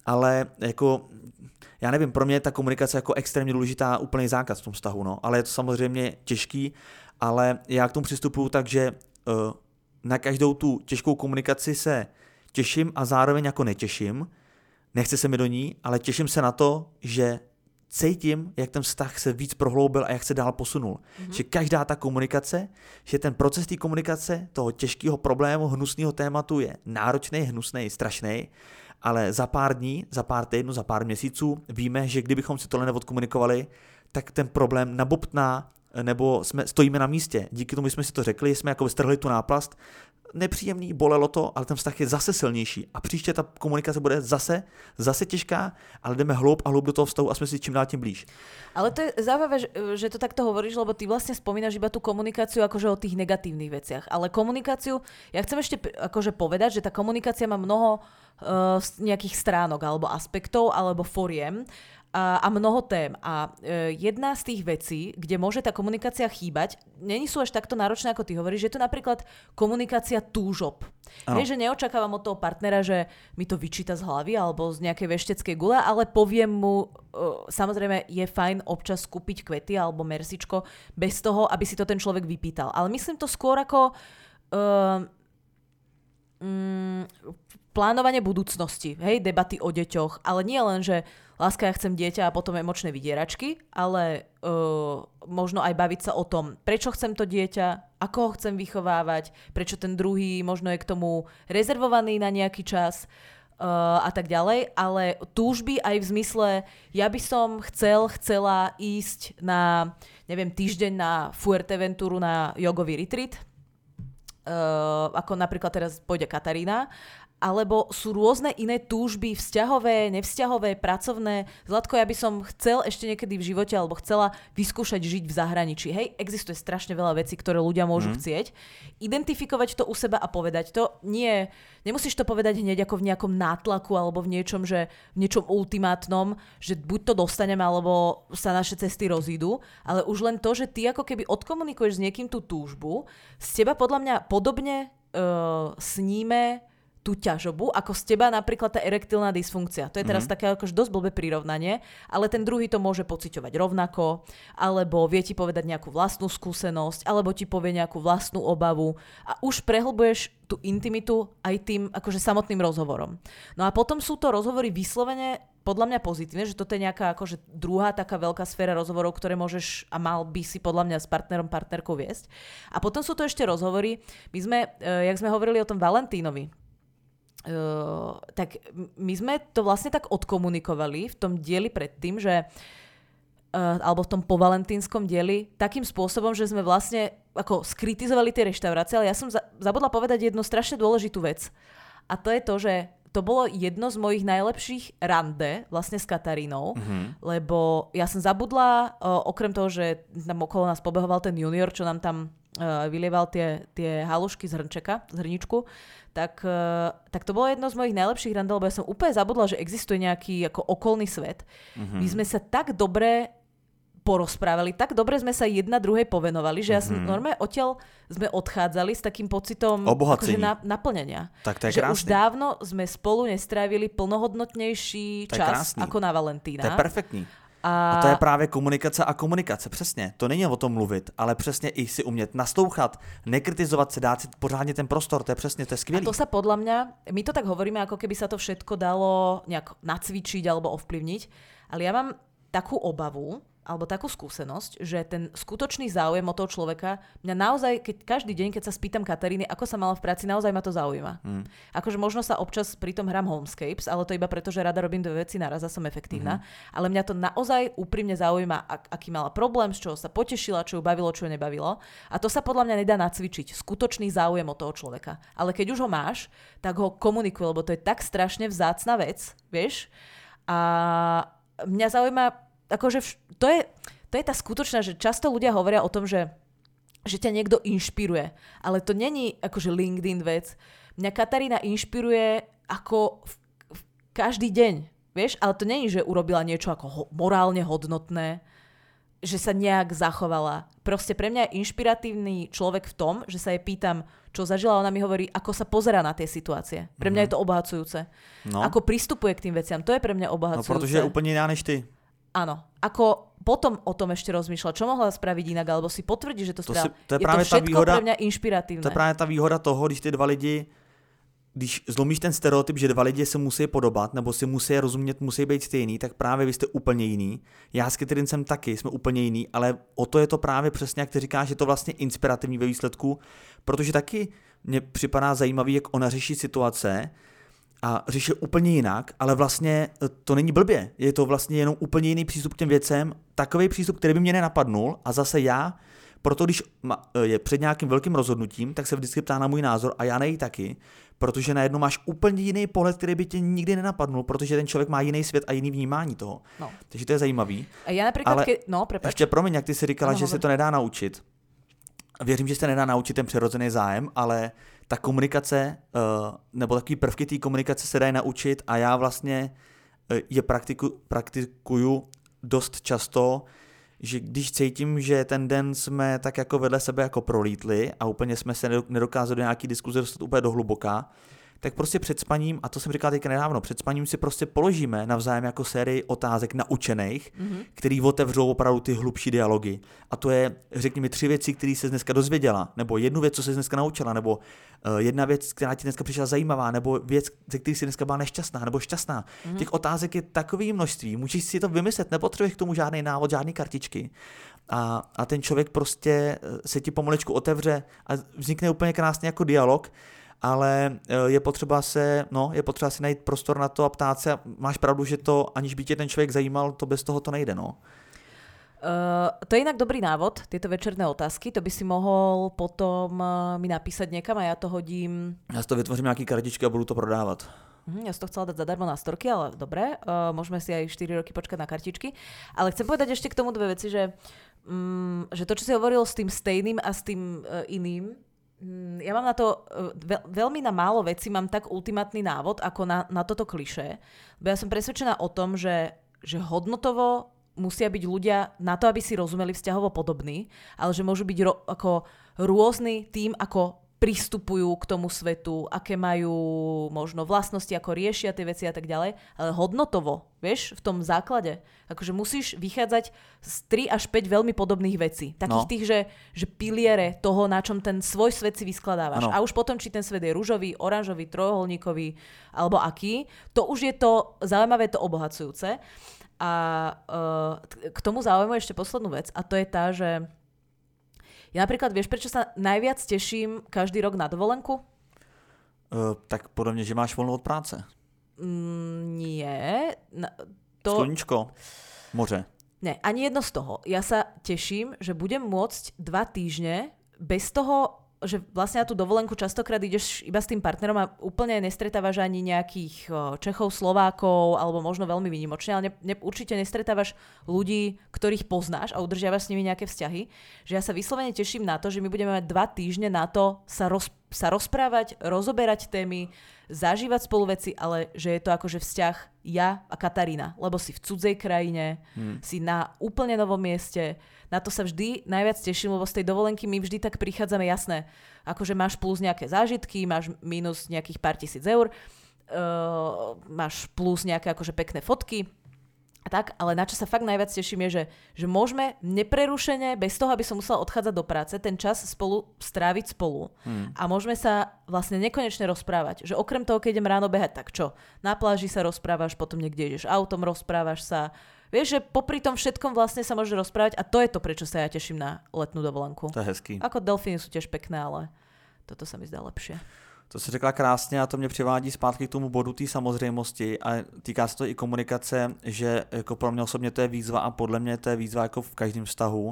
ale jako, já nevím, pro mě je ta komunikace jako extrémně důležitá, úplný zákaz v tom vztahu, no, ale je to samozřejmě těžký, ale já k tomu přistupuju tak, že uh, na každou tu těžkou komunikaci se těším a zároveň jako netěším, nechce se mi do ní, ale těším se na to, že cítím, jak ten vztah se víc prohloubil a jak se dál posunul. Mm-hmm. Že každá ta komunikace, že ten proces té komunikace, toho těžkého problému, hnusného tématu je náročný, hnusný, strašný, ale za pár dní, za pár týdnů, za pár měsíců víme, že kdybychom si tohle neodkomunikovali, tak ten problém nabobtná, nebo jsme, stojíme na místě. Díky tomu jsme si to řekli, jsme jako strhli tu náplast, nepříjemný, bolelo to, ale ten vztah je zase silnější a příště ta komunikace bude zase, zase těžká, ale jdeme hloub a hloub do toho vztahu a jsme si čím dál tím blíž. Ale to je zaujímavé, že, že to takto hovoríš, lebo ty vlastne spomínaš iba tú komunikáciu akože o tých negatívnych veciach, ale komunikáciu, ja chcem ešte akože povedať, že tá komunikácia má mnoho uh, nejakých stránok alebo aspektov alebo foriem, a, a mnoho tém. A e, jedna z tých vecí, kde môže tá komunikácia chýbať, není sú až takto náročné, ako ty hovoríš, že je to napríklad komunikácia túžob. Hej, že neočakávam od toho partnera, že mi to vyčíta z hlavy alebo z nejakej vešteckej gule, ale poviem mu, e, samozrejme je fajn občas kúpiť kvety alebo mersičko bez toho, aby si to ten človek vypýtal. Ale myslím to skôr ako e, mm, plánovanie budúcnosti, hej, debaty o deťoch, ale nie len, že láska, ja chcem dieťa a potom emočné vydieračky, ale uh, možno aj baviť sa o tom, prečo chcem to dieťa, ako ho chcem vychovávať, prečo ten druhý možno je k tomu rezervovaný na nejaký čas uh, a tak ďalej, ale túžby aj v zmysle, ja by som chcel, chcela ísť na, neviem, týždeň na Fuerteventuru na jogový retreat, uh, ako napríklad teraz pôjde Katarína, alebo sú rôzne iné túžby, vzťahové, nevzťahové, pracovné. Zlatko, ja by som chcel ešte niekedy v živote, alebo chcela vyskúšať žiť v zahraničí. Hej, existuje strašne veľa vecí, ktoré ľudia môžu mm. chcieť. Identifikovať to u seba a povedať to. Nie, nemusíš to povedať hneď ako v nejakom nátlaku, alebo v niečom, že v niečom ultimátnom, že buď to dostaneme, alebo sa naše cesty rozídu, ale už len to, že ty ako keby odkomunikuješ s niekým tú túžbu, z teba podľa mňa podobne uh, sníme tú ťažobu, ako z teba napríklad tá erektilná dysfunkcia. To je teraz mm-hmm. také akož dosť blbé prirovnanie, ale ten druhý to môže pociťovať rovnako, alebo vie ti povedať nejakú vlastnú skúsenosť, alebo ti povie nejakú vlastnú obavu a už prehlbuješ tú intimitu aj tým akože samotným rozhovorom. No a potom sú to rozhovory vyslovene podľa mňa pozitívne, že toto je nejaká akože druhá taká veľká sféra rozhovorov, ktoré môžeš a mal by si podľa mňa s partnerom, partnerkou viesť. A potom sú to ešte rozhovory. My sme, jak sme hovorili o tom Valentínovi, Uh, tak my sme to vlastne tak odkomunikovali v tom dieli predtým, že uh, alebo v tom povalentínskom dieli takým spôsobom, že sme vlastne ako skritizovali tie reštaurácie, ale ja som za- zabudla povedať jednu strašne dôležitú vec. A to je to, že to bolo jedno z mojich najlepších rande vlastne s Katarínou, mm-hmm. lebo ja som zabudla, uh, okrem toho, že tam okolo nás pobehoval ten junior, čo nám tam uh, vylieval tie, tie halušky z hrnčeka, z hrničku, tak, uh, tak to bolo jedno z mojich najlepších rande, lebo ja som úplne zabudla, že existuje nejaký ako okolný svet. Mm-hmm. My sme sa tak dobre porozprávali, tak dobre sme sa jedna druhej povenovali, že mm-hmm. ja som normálne odtiaľ sme odchádzali s takým pocitom akože na, naplnenia. Tak to je že krásne. Už dávno sme spolu nestrávili plnohodnotnejší čas ako na Valentína. To je perfektní. A... a to je právě komunikace a komunikace, přesně. To není o tom mluvit, ale přesně i si umět naslouchat, nekritizovat se, dát si pořádně ten prostor, to je přesně, to je skvělý. A to sa podľa mňa, my to tak hovoríme, ako keby sa to všetko dalo nejak nacvičiť alebo ovplyvniť, ale ja mám takú obavu, alebo takú skúsenosť, že ten skutočný záujem o toho človeka mňa naozaj, keď každý deň, keď sa spýtam Kataríny, ako sa mala v práci, naozaj ma to zaujíma. Mm. Akože možno sa občas pri tom hrám Homescapes, ale to iba preto, že rada robím dve veci naraz a som efektívna. Mm-hmm. Ale mňa to naozaj úprimne zaujíma, ak, aký mala problém, z čoho sa potešila, čo ju bavilo, čo ju nebavilo. A to sa podľa mňa nedá nacvičiť. Skutočný záujem o toho človeka. Ale keď už ho máš, tak ho komunikuj, lebo to je tak strašne vzácna vec, vieš? A mňa zaujíma akože vš- to je, to je tá skutočná, že často ľudia hovoria o tom, že, že ťa niekto inšpiruje. Ale to není akože LinkedIn vec. Mňa Katarína inšpiruje ako v, v každý deň. Vieš? Ale to není, že urobila niečo ako ho, morálne hodnotné. že sa nejak zachovala. Proste pre mňa je inšpiratívny človek v tom, že sa jej pýtam, čo zažila, ona mi hovorí, ako sa pozerá na tie situácie. Pre mňa mm-hmm. je to obohacujúce. No. Ako pristupuje k tým veciam, to je pre mňa obohacujúce. No, protože je úplne iná než ty. Áno. Ako potom o tom ešte rozmýšľa, čo mohla spraviť inak, alebo si potvrdí, že to, to spravila. To je, je práve to všetko výhoda, pre mňa inšpiratívne. To je práve tá výhoda toho, když ty dva lidi, když zlomíš ten stereotyp, že dva lidi se musí podobat, nebo si musí rozumět, musí být stejný, tak právě vy jste úplně jiný. Já s Catherine jsem taky, jsme úplně jiný, ale o to je to právě přesně, jak ty říkáš, že to vlastně inspirativní ve výsledku, protože taky mně připadá zajímavý, jak ona řeší situace a řeší úplně jinak, ale vlastně to není blbě. Je to vlastně jenom úplně jiný přístup k těm věcem, takový přístup, který by mě nenapadnul a zase já, proto když je před nějakým velkým rozhodnutím, tak se vždycky ptá na můj názor a já nej taky, protože najednou máš úplně jiný pohled, který by tě nikdy nenapadnul, protože ten člověk má jiný svět a jiný vnímání toho. No. Takže to je zajímavý. A já například, ale ke... no, prepač. Ještě promiň, jak ty si říkala, no, že se to nedá naučit. Věřím, že se nedá naučit ten přirozený zájem, ale ta komunikace, nebo takový prvky té komunikace se dají naučit a já vlastně je praktiku, praktikuju dost často, že když cítím, že ten den jsme tak jako vedle sebe jako prolítli a úplně jsme se nedokázali do nějaký diskuze dostat úplně do hluboka, tak prostě před spaním, a to jsem říkal teďka nedávno, před spaním si prostě položíme navzájem jako sérii otázek naučených, mm-hmm. který otevřou opravdu ty hlubší dialogy. A to je, řekni mi, tři věci, které jsi dneska dozvěděla, nebo jednu věc, co jsi dneska naučila, nebo uh, jedna věc, která ti dneska přišla zajímavá, nebo věc, ze které jsi dneska byla nešťastná, nebo šťastná. Mm-hmm. Těch otázek je takové množství, můžeš si to vymyslet, nepotřebuješ k tomu žádný návod, žádný kartičky. A, a ten člověk prostě se ti pomalečku otevře a vznikne úplně krásně jako dialog. Ale je potřeba se, no, je potřeba si najít prostor na to a ptát se. Máš pravdu, že to, aniž by tě ten člověk zajímal, to bez toho to nejde, no. Uh, to je inak dobrý návod, tieto večerné otázky. To by si mohol potom uh, mi napísať niekam a ja to hodím. Ja si to vytvořím nejaké kartičky a budu to prodávať. Uh, ja som to chcela dať zadarmo na storky, ale dobre, uh, môžeme si aj štyri roky počkať na kartičky. Ale chcem povedať ešte k tomu dve veci, že, um, že to, čo si hovoril s tým stejným a s tým uh, iným, ja mám na to, veľ, veľmi na málo vecí mám tak ultimátny návod, ako na, na toto klišé. Bo ja som presvedčená o tom, že, že hodnotovo musia byť ľudia na to, aby si rozumeli vzťahovo podobní, ale že môžu byť ro, ako rôzni tým, ako pristupujú k tomu svetu, aké majú možno vlastnosti, ako riešia tie veci a tak ďalej, ale hodnotovo, vieš, v tom základe. Akože musíš vychádzať z tri až päť veľmi podobných vecí. Takých no. tých, že, že piliere toho, na čom ten svoj svet si vyskladávaš. Ano. A už potom, či ten svet je ružový, oranžový, trojuholníkový, alebo aký, to už je to zaujímavé, to obohacujúce. A uh, k tomu zaujímavé ešte poslednú vec, a to je tá, že ja napríklad, vieš, prečo sa najviac teším každý rok na dovolenku? Uh, tak podľa mňa, že máš voľno od práce. Mm, nie. Na, to... Sluníčko, moře. Nie, ani jedno z toho. Ja sa teším, že budem môcť dva týždne bez toho, že vlastne na tú dovolenku častokrát ideš iba s tým partnerom a úplne nestretávaš ani nejakých Čechov, Slovákov, alebo možno veľmi výnimočne, ale ne, ne, určite nestretávaš ľudí, ktorých poznáš a udržiavaš s nimi nejaké vzťahy. Že ja sa vyslovene teším na to, že my budeme mať dva týždne na to sa, roz, sa rozprávať, rozoberať témy, zažívať spolu veci, ale že je to akože vzťah ja a Katarína, lebo si v cudzej krajine, hmm. si na úplne novom mieste. Na to sa vždy najviac teším, lebo z tej dovolenky my vždy tak prichádzame, jasné, akože máš plus nejaké zážitky, máš minus nejakých pár tisíc eur, uh, máš plus nejaké akože pekné fotky a tak, ale na čo sa fakt najviac teším je, že, že môžeme neprerušene, bez toho, aby som musela odchádzať do práce, ten čas spolu stráviť spolu hmm. a môžeme sa vlastne nekonečne rozprávať. Že okrem toho, keď idem ráno behať, tak čo? Na pláži sa rozprávaš, potom niekde ideš autom, rozprávaš sa. Vieš, že popri tom všetkom vlastne sa môže rozprávať a to je to, prečo sa ja teším na letnú dovolenku. To je hezký. Ako delfíny sú tiež pekné, ale toto sa mi zdá lepšie. To si řekla krásně a to mě přivádí zpátky k tomu bodu té samozřejmosti a týká se to i komunikace, že jako pro mě osobně to je výzva a podle mě to je výzva jako v každém vztahu.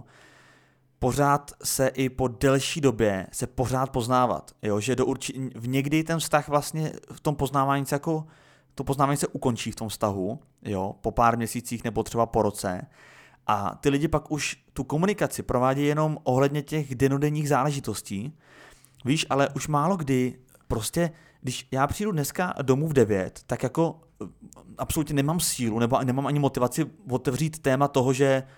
Pořád se i po delší době se pořád poznávat, jo? Že do urči- v někdy ten vztah vlastně v tom poznávání se jako to poznávání se ukončí v tom vztahu, jo, po pár měsících nebo třeba po roce. A ty lidi pak už tu komunikaci provádějí jenom ohledně těch denodenních záležitostí. Víš, ale už málo kdy, prostě, když já přijdu dneska domů v devět, tak jako absolutně nemám sílu, nebo nemám ani motivaci otevřít téma toho, že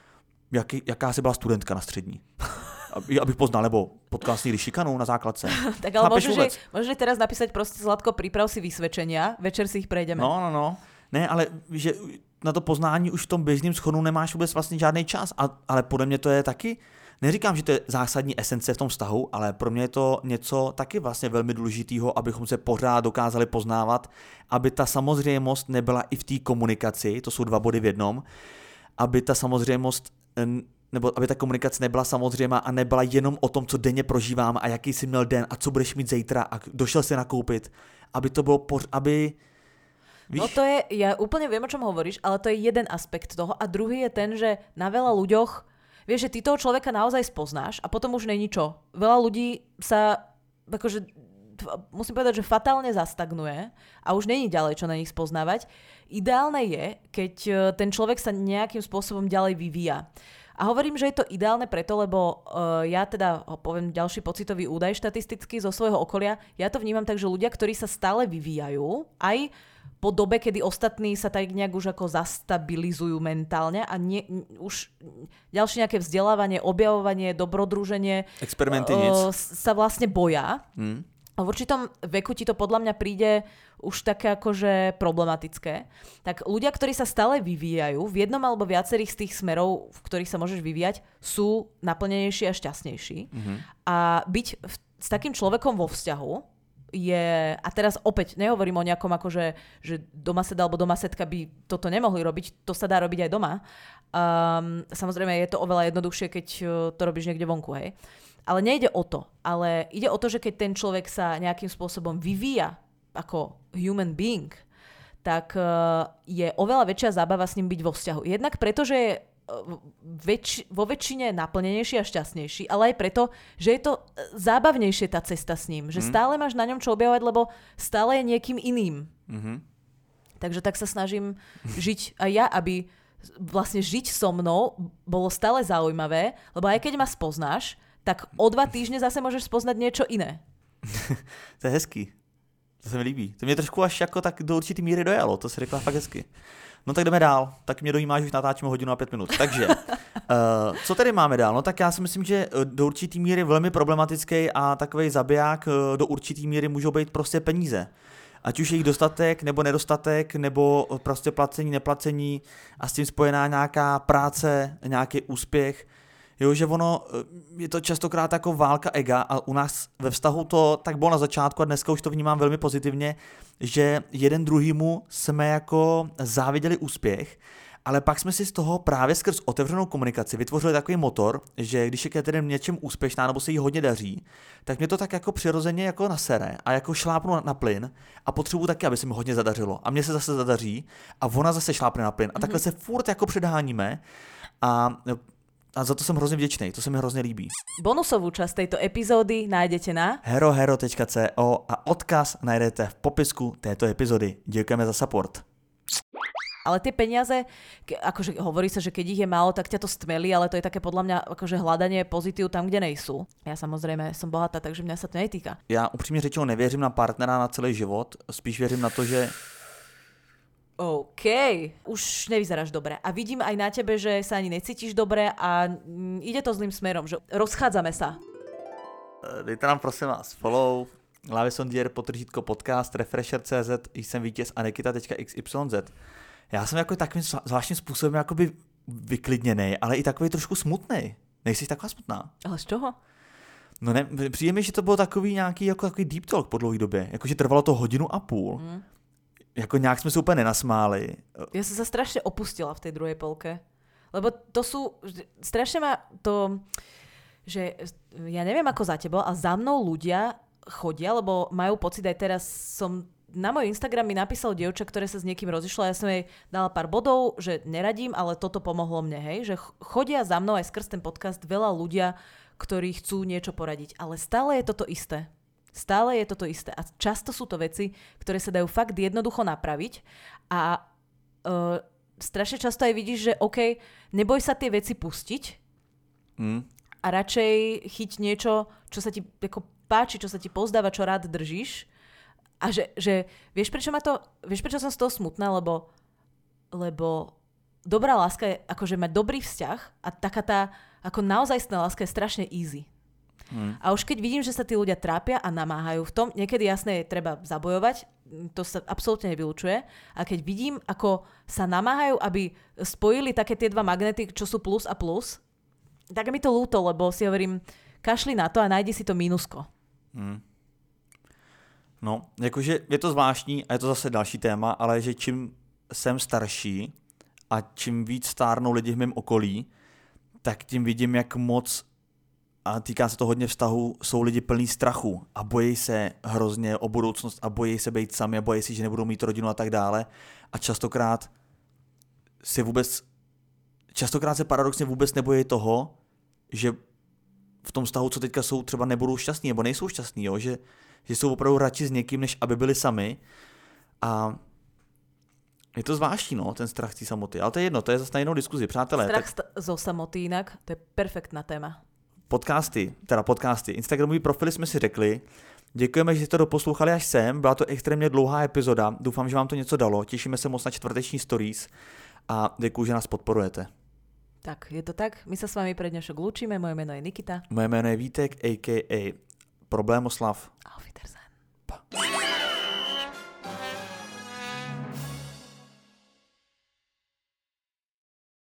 jaký, jaká jsi byla studentka na střední. Abych poznal, nebo potkal si někdy šikanu na základce. Tak ale môžeš, môžeš teraz napísať proste Zlatko, priprav si vysvedčenia, večer si ich prejdeme. No, no, no. Ne, ale že na to poznání už v tom běžném schodu nemáš vůbec vlastně žádný čas, a, ale podle mě to je taky, neříkám, že to je zásadní esence v tom vztahu, ale pro mě je to něco taky vlastně velmi důležitého, abychom se pořád dokázali poznávat, aby ta samozřejmost nebyla i v té komunikaci, to jsou dva body v jednom, aby ta samozřejmost, nebo aby ta komunikace nebyla samozřejmá a nebyla jenom o tom, co denně prožívám a jaký jsi měl den a co budeš mít zítra a došel si nakoupit, aby to bylo, poř- aby Víš? No to je, ja úplne viem, o čom hovoríš, ale to je jeden aspekt toho. A druhý je ten, že na veľa ľuďoch, vieš, že ty toho človeka naozaj spoznáš a potom už není čo. Veľa ľudí sa, akože, musím povedať, že fatálne zastagnuje a už není ďalej, čo na nich spoznávať. Ideálne je, keď ten človek sa nejakým spôsobom ďalej vyvíja. A hovorím, že je to ideálne preto, lebo uh, ja teda poviem ďalší pocitový údaj štatisticky zo svojho okolia. Ja to vnímam tak, že ľudia, ktorí sa stále vyvíjajú, aj po dobe, kedy ostatní sa tak nejak už ako zastabilizujú mentálne a nie, už ďalšie nejaké vzdelávanie, objavovanie, dobrodruženie experimenty uh, nic. sa vlastne boja. Hmm. A v určitom veku ti to podľa mňa príde už také akože problematické. Tak ľudia, ktorí sa stále vyvíjajú, v jednom alebo viacerých z tých smerov, v ktorých sa môžeš vyvíjať, sú naplnenejší a šťastnejší. Mm-hmm. A byť v, s takým človekom vo vzťahu je, a teraz opäť nehovorím o nejakom akože, že domaseda alebo domasedka by toto nemohli robiť, to sa dá robiť aj doma. Um, samozrejme je to oveľa jednoduchšie, keď to robíš niekde vonku, hej. Ale nejde o to, ale ide o to, že keď ten človek sa nejakým spôsobom vyvíja ako human being, tak uh, je oveľa väčšia zábava s ním byť vo vzťahu. Jednak preto, že je väč- vo väčšine naplnenejší a šťastnejší, ale aj preto, že je to zábavnejšie tá cesta s ním. Že mm. stále máš na ňom čo objavovať, lebo stále je niekým iným. Mm-hmm. Takže tak sa snažím žiť aj ja, aby vlastne žiť so mnou bolo stále zaujímavé, lebo aj keď ma spoznáš, tak o dva týždne zase môžeš spoznať niečo iné. To je hezký. To se mi líbí. To mě trošku až jako tak do určitý míry dojalo. To se řekla fakt hezky. No tak jdeme dál. Tak mě dojímá, že už natáčíme hodinu a pět minut. Takže, uh, co tady máme dál? No tak já si myslím, že do určitý míry velmi problematický a takovej zabiják do určitý míry můžou být prostě peníze. Ať už je jich dostatek, nebo nedostatek, nebo prostě placení, neplacení a s tím spojená nějaká práce, nějaký úspěch. Jo, že ono, je to častokrát jako válka ega a u nás ve vztahu to tak bylo na začátku a dneska už to vnímám velmi pozitivně, že jeden druhýmu jsme jako záviděli úspěch, ale pak jsme si z toho právě skrz otevřenou komunikaci vytvořili takový motor, že když je Catherine něčem úspěšná nebo se jí hodně daří, tak mě to tak jako přirozeně jako nasere a jako šlápnu na, na plyn a potřebuji taky, aby se mi hodně zadařilo a mně se zase zadaří a ona zase šlápne na plyn a takhle mm-hmm. se furt jako předháníme a A za to som hrozne vďačný, to sa mi hrozne líbí. Bonusovú časť tejto epizódy nájdete na herohero tečka co a odkaz nájdete v popisku tejto epizódy. Ďakujeme za support. Ale tie peniaze, ke, akože hovorí sa, že keď ich je málo, tak ťa to stmelí, ale to je také podľa mňa akože hľadanie pozitív tam, kde nejsú. Ja samozrejme som bohatá, takže mňa sa to netýka. Ja upřímne řečeno nevěřím na partnera na celý život, spíš věřím na to, že OK, už nevyzeráš dobre. A vidím aj na tebe, že sa ani necítiš dobre a ide to zlým smerom, že rozchádzame sa. Dejte nám prosím vás follow, Lávě Sondier, potržítko podcast, refresher tečka cz, jsem vítěz a nekita tečka x y z. Já jsem jako takovým zvláštním způsobem jakoby vyklidněnej, ale i takový trošku smutnej. Nejsi taková smutná? Ale z čoho? No ne, přijde mi, že to bylo takový nějaký jako takový deep talk po dlouhé době. Jakože trvalo to hodinu a půl. Mm. Jako nějak jsme se úplně nenasmáli. Ja som sa strašne opustila v tej druhej polke. Lebo to sú, strašne ma to, že ja neviem ako za tebo, a za mnou ľudia chodia, lebo majú pocit, aj teraz som, na môj Instagram mi napísal dievča, ktoré sa s niekým rozišlo a ja som jej dala pár bodov, že neradím, ale toto pomohlo mne, hej, že chodia za mnou aj skrz ten podcast veľa ľudia, ktorí chcú niečo poradiť, ale stále je toto isté. Stále je toto isté a často sú to veci, ktoré sa dajú fakt jednoducho napraviť a uh, strašne často aj vidíš, že OK, neboj sa tie veci pustiť mm. a radšej chyť niečo, čo sa ti ako páči, čo sa ti pozdáva, čo rád držíš a že, že vieš, prečo ma to, vieš, prečo som z toho smutná, lebo, lebo dobrá láska je akože mať dobrý vzťah a taká tá ako naozajstná láska je strašne easy. Hmm. A už keď vidím, že sa tí ľudia trápia a namáhajú v tom, niekedy jasné je treba zabojovať, to sa absolútne nevylučuje, a keď vidím, ako sa namáhajú, aby spojili také tie dva magnety, čo sú plus a plus, tak mi to ľúto, lebo si hovorím, kašli na to a najdi si to mínusko. Hmm. No, jakože je to zvláštní a je to zase další téma, ale že čím jsem starší a čím víc stárnou lidi v mém okolí, tak tím vidím, jak moc, a týká se to hodně vztahu, jsou lidi plný strachu a bojí se hrozně o budoucnost a bojí se být sami a bojí si, že nebudou mít rodinu a tak dále. A častokrát si vůbec, častokrát se paradoxně vůbec nebojí toho, že v tom vztahu, co teďka jsou, třeba nebudou šťastní nebo nejsou šťastní, jo? Že, že jsou opravdu radši s někým, než aby byli sami. A je to zvláštní, no, ten strach z té samoty. Ale to je jedno, to je zase na jinou diskuzi. Přátelé. Strach tak... zo samoty jinak, to je perfektná téma. Podcasty, teda podcasty, Instagramový profily jsme si řekli. Děkujeme, že jste to doposlouchali až sem. Byla to extrémně dlouhá epizoda. Doufám, že vám to něco dalo. Těšíme se moc na čtvrteční stories a děkuji, že nás podporujete. Tak, je to tak. My sa s vami pre dnešok lúčime. Moje meno je Nikita. Moje jméno je Vítek, a ká a. Problémoslav. Auf Wiedersehen. Pa.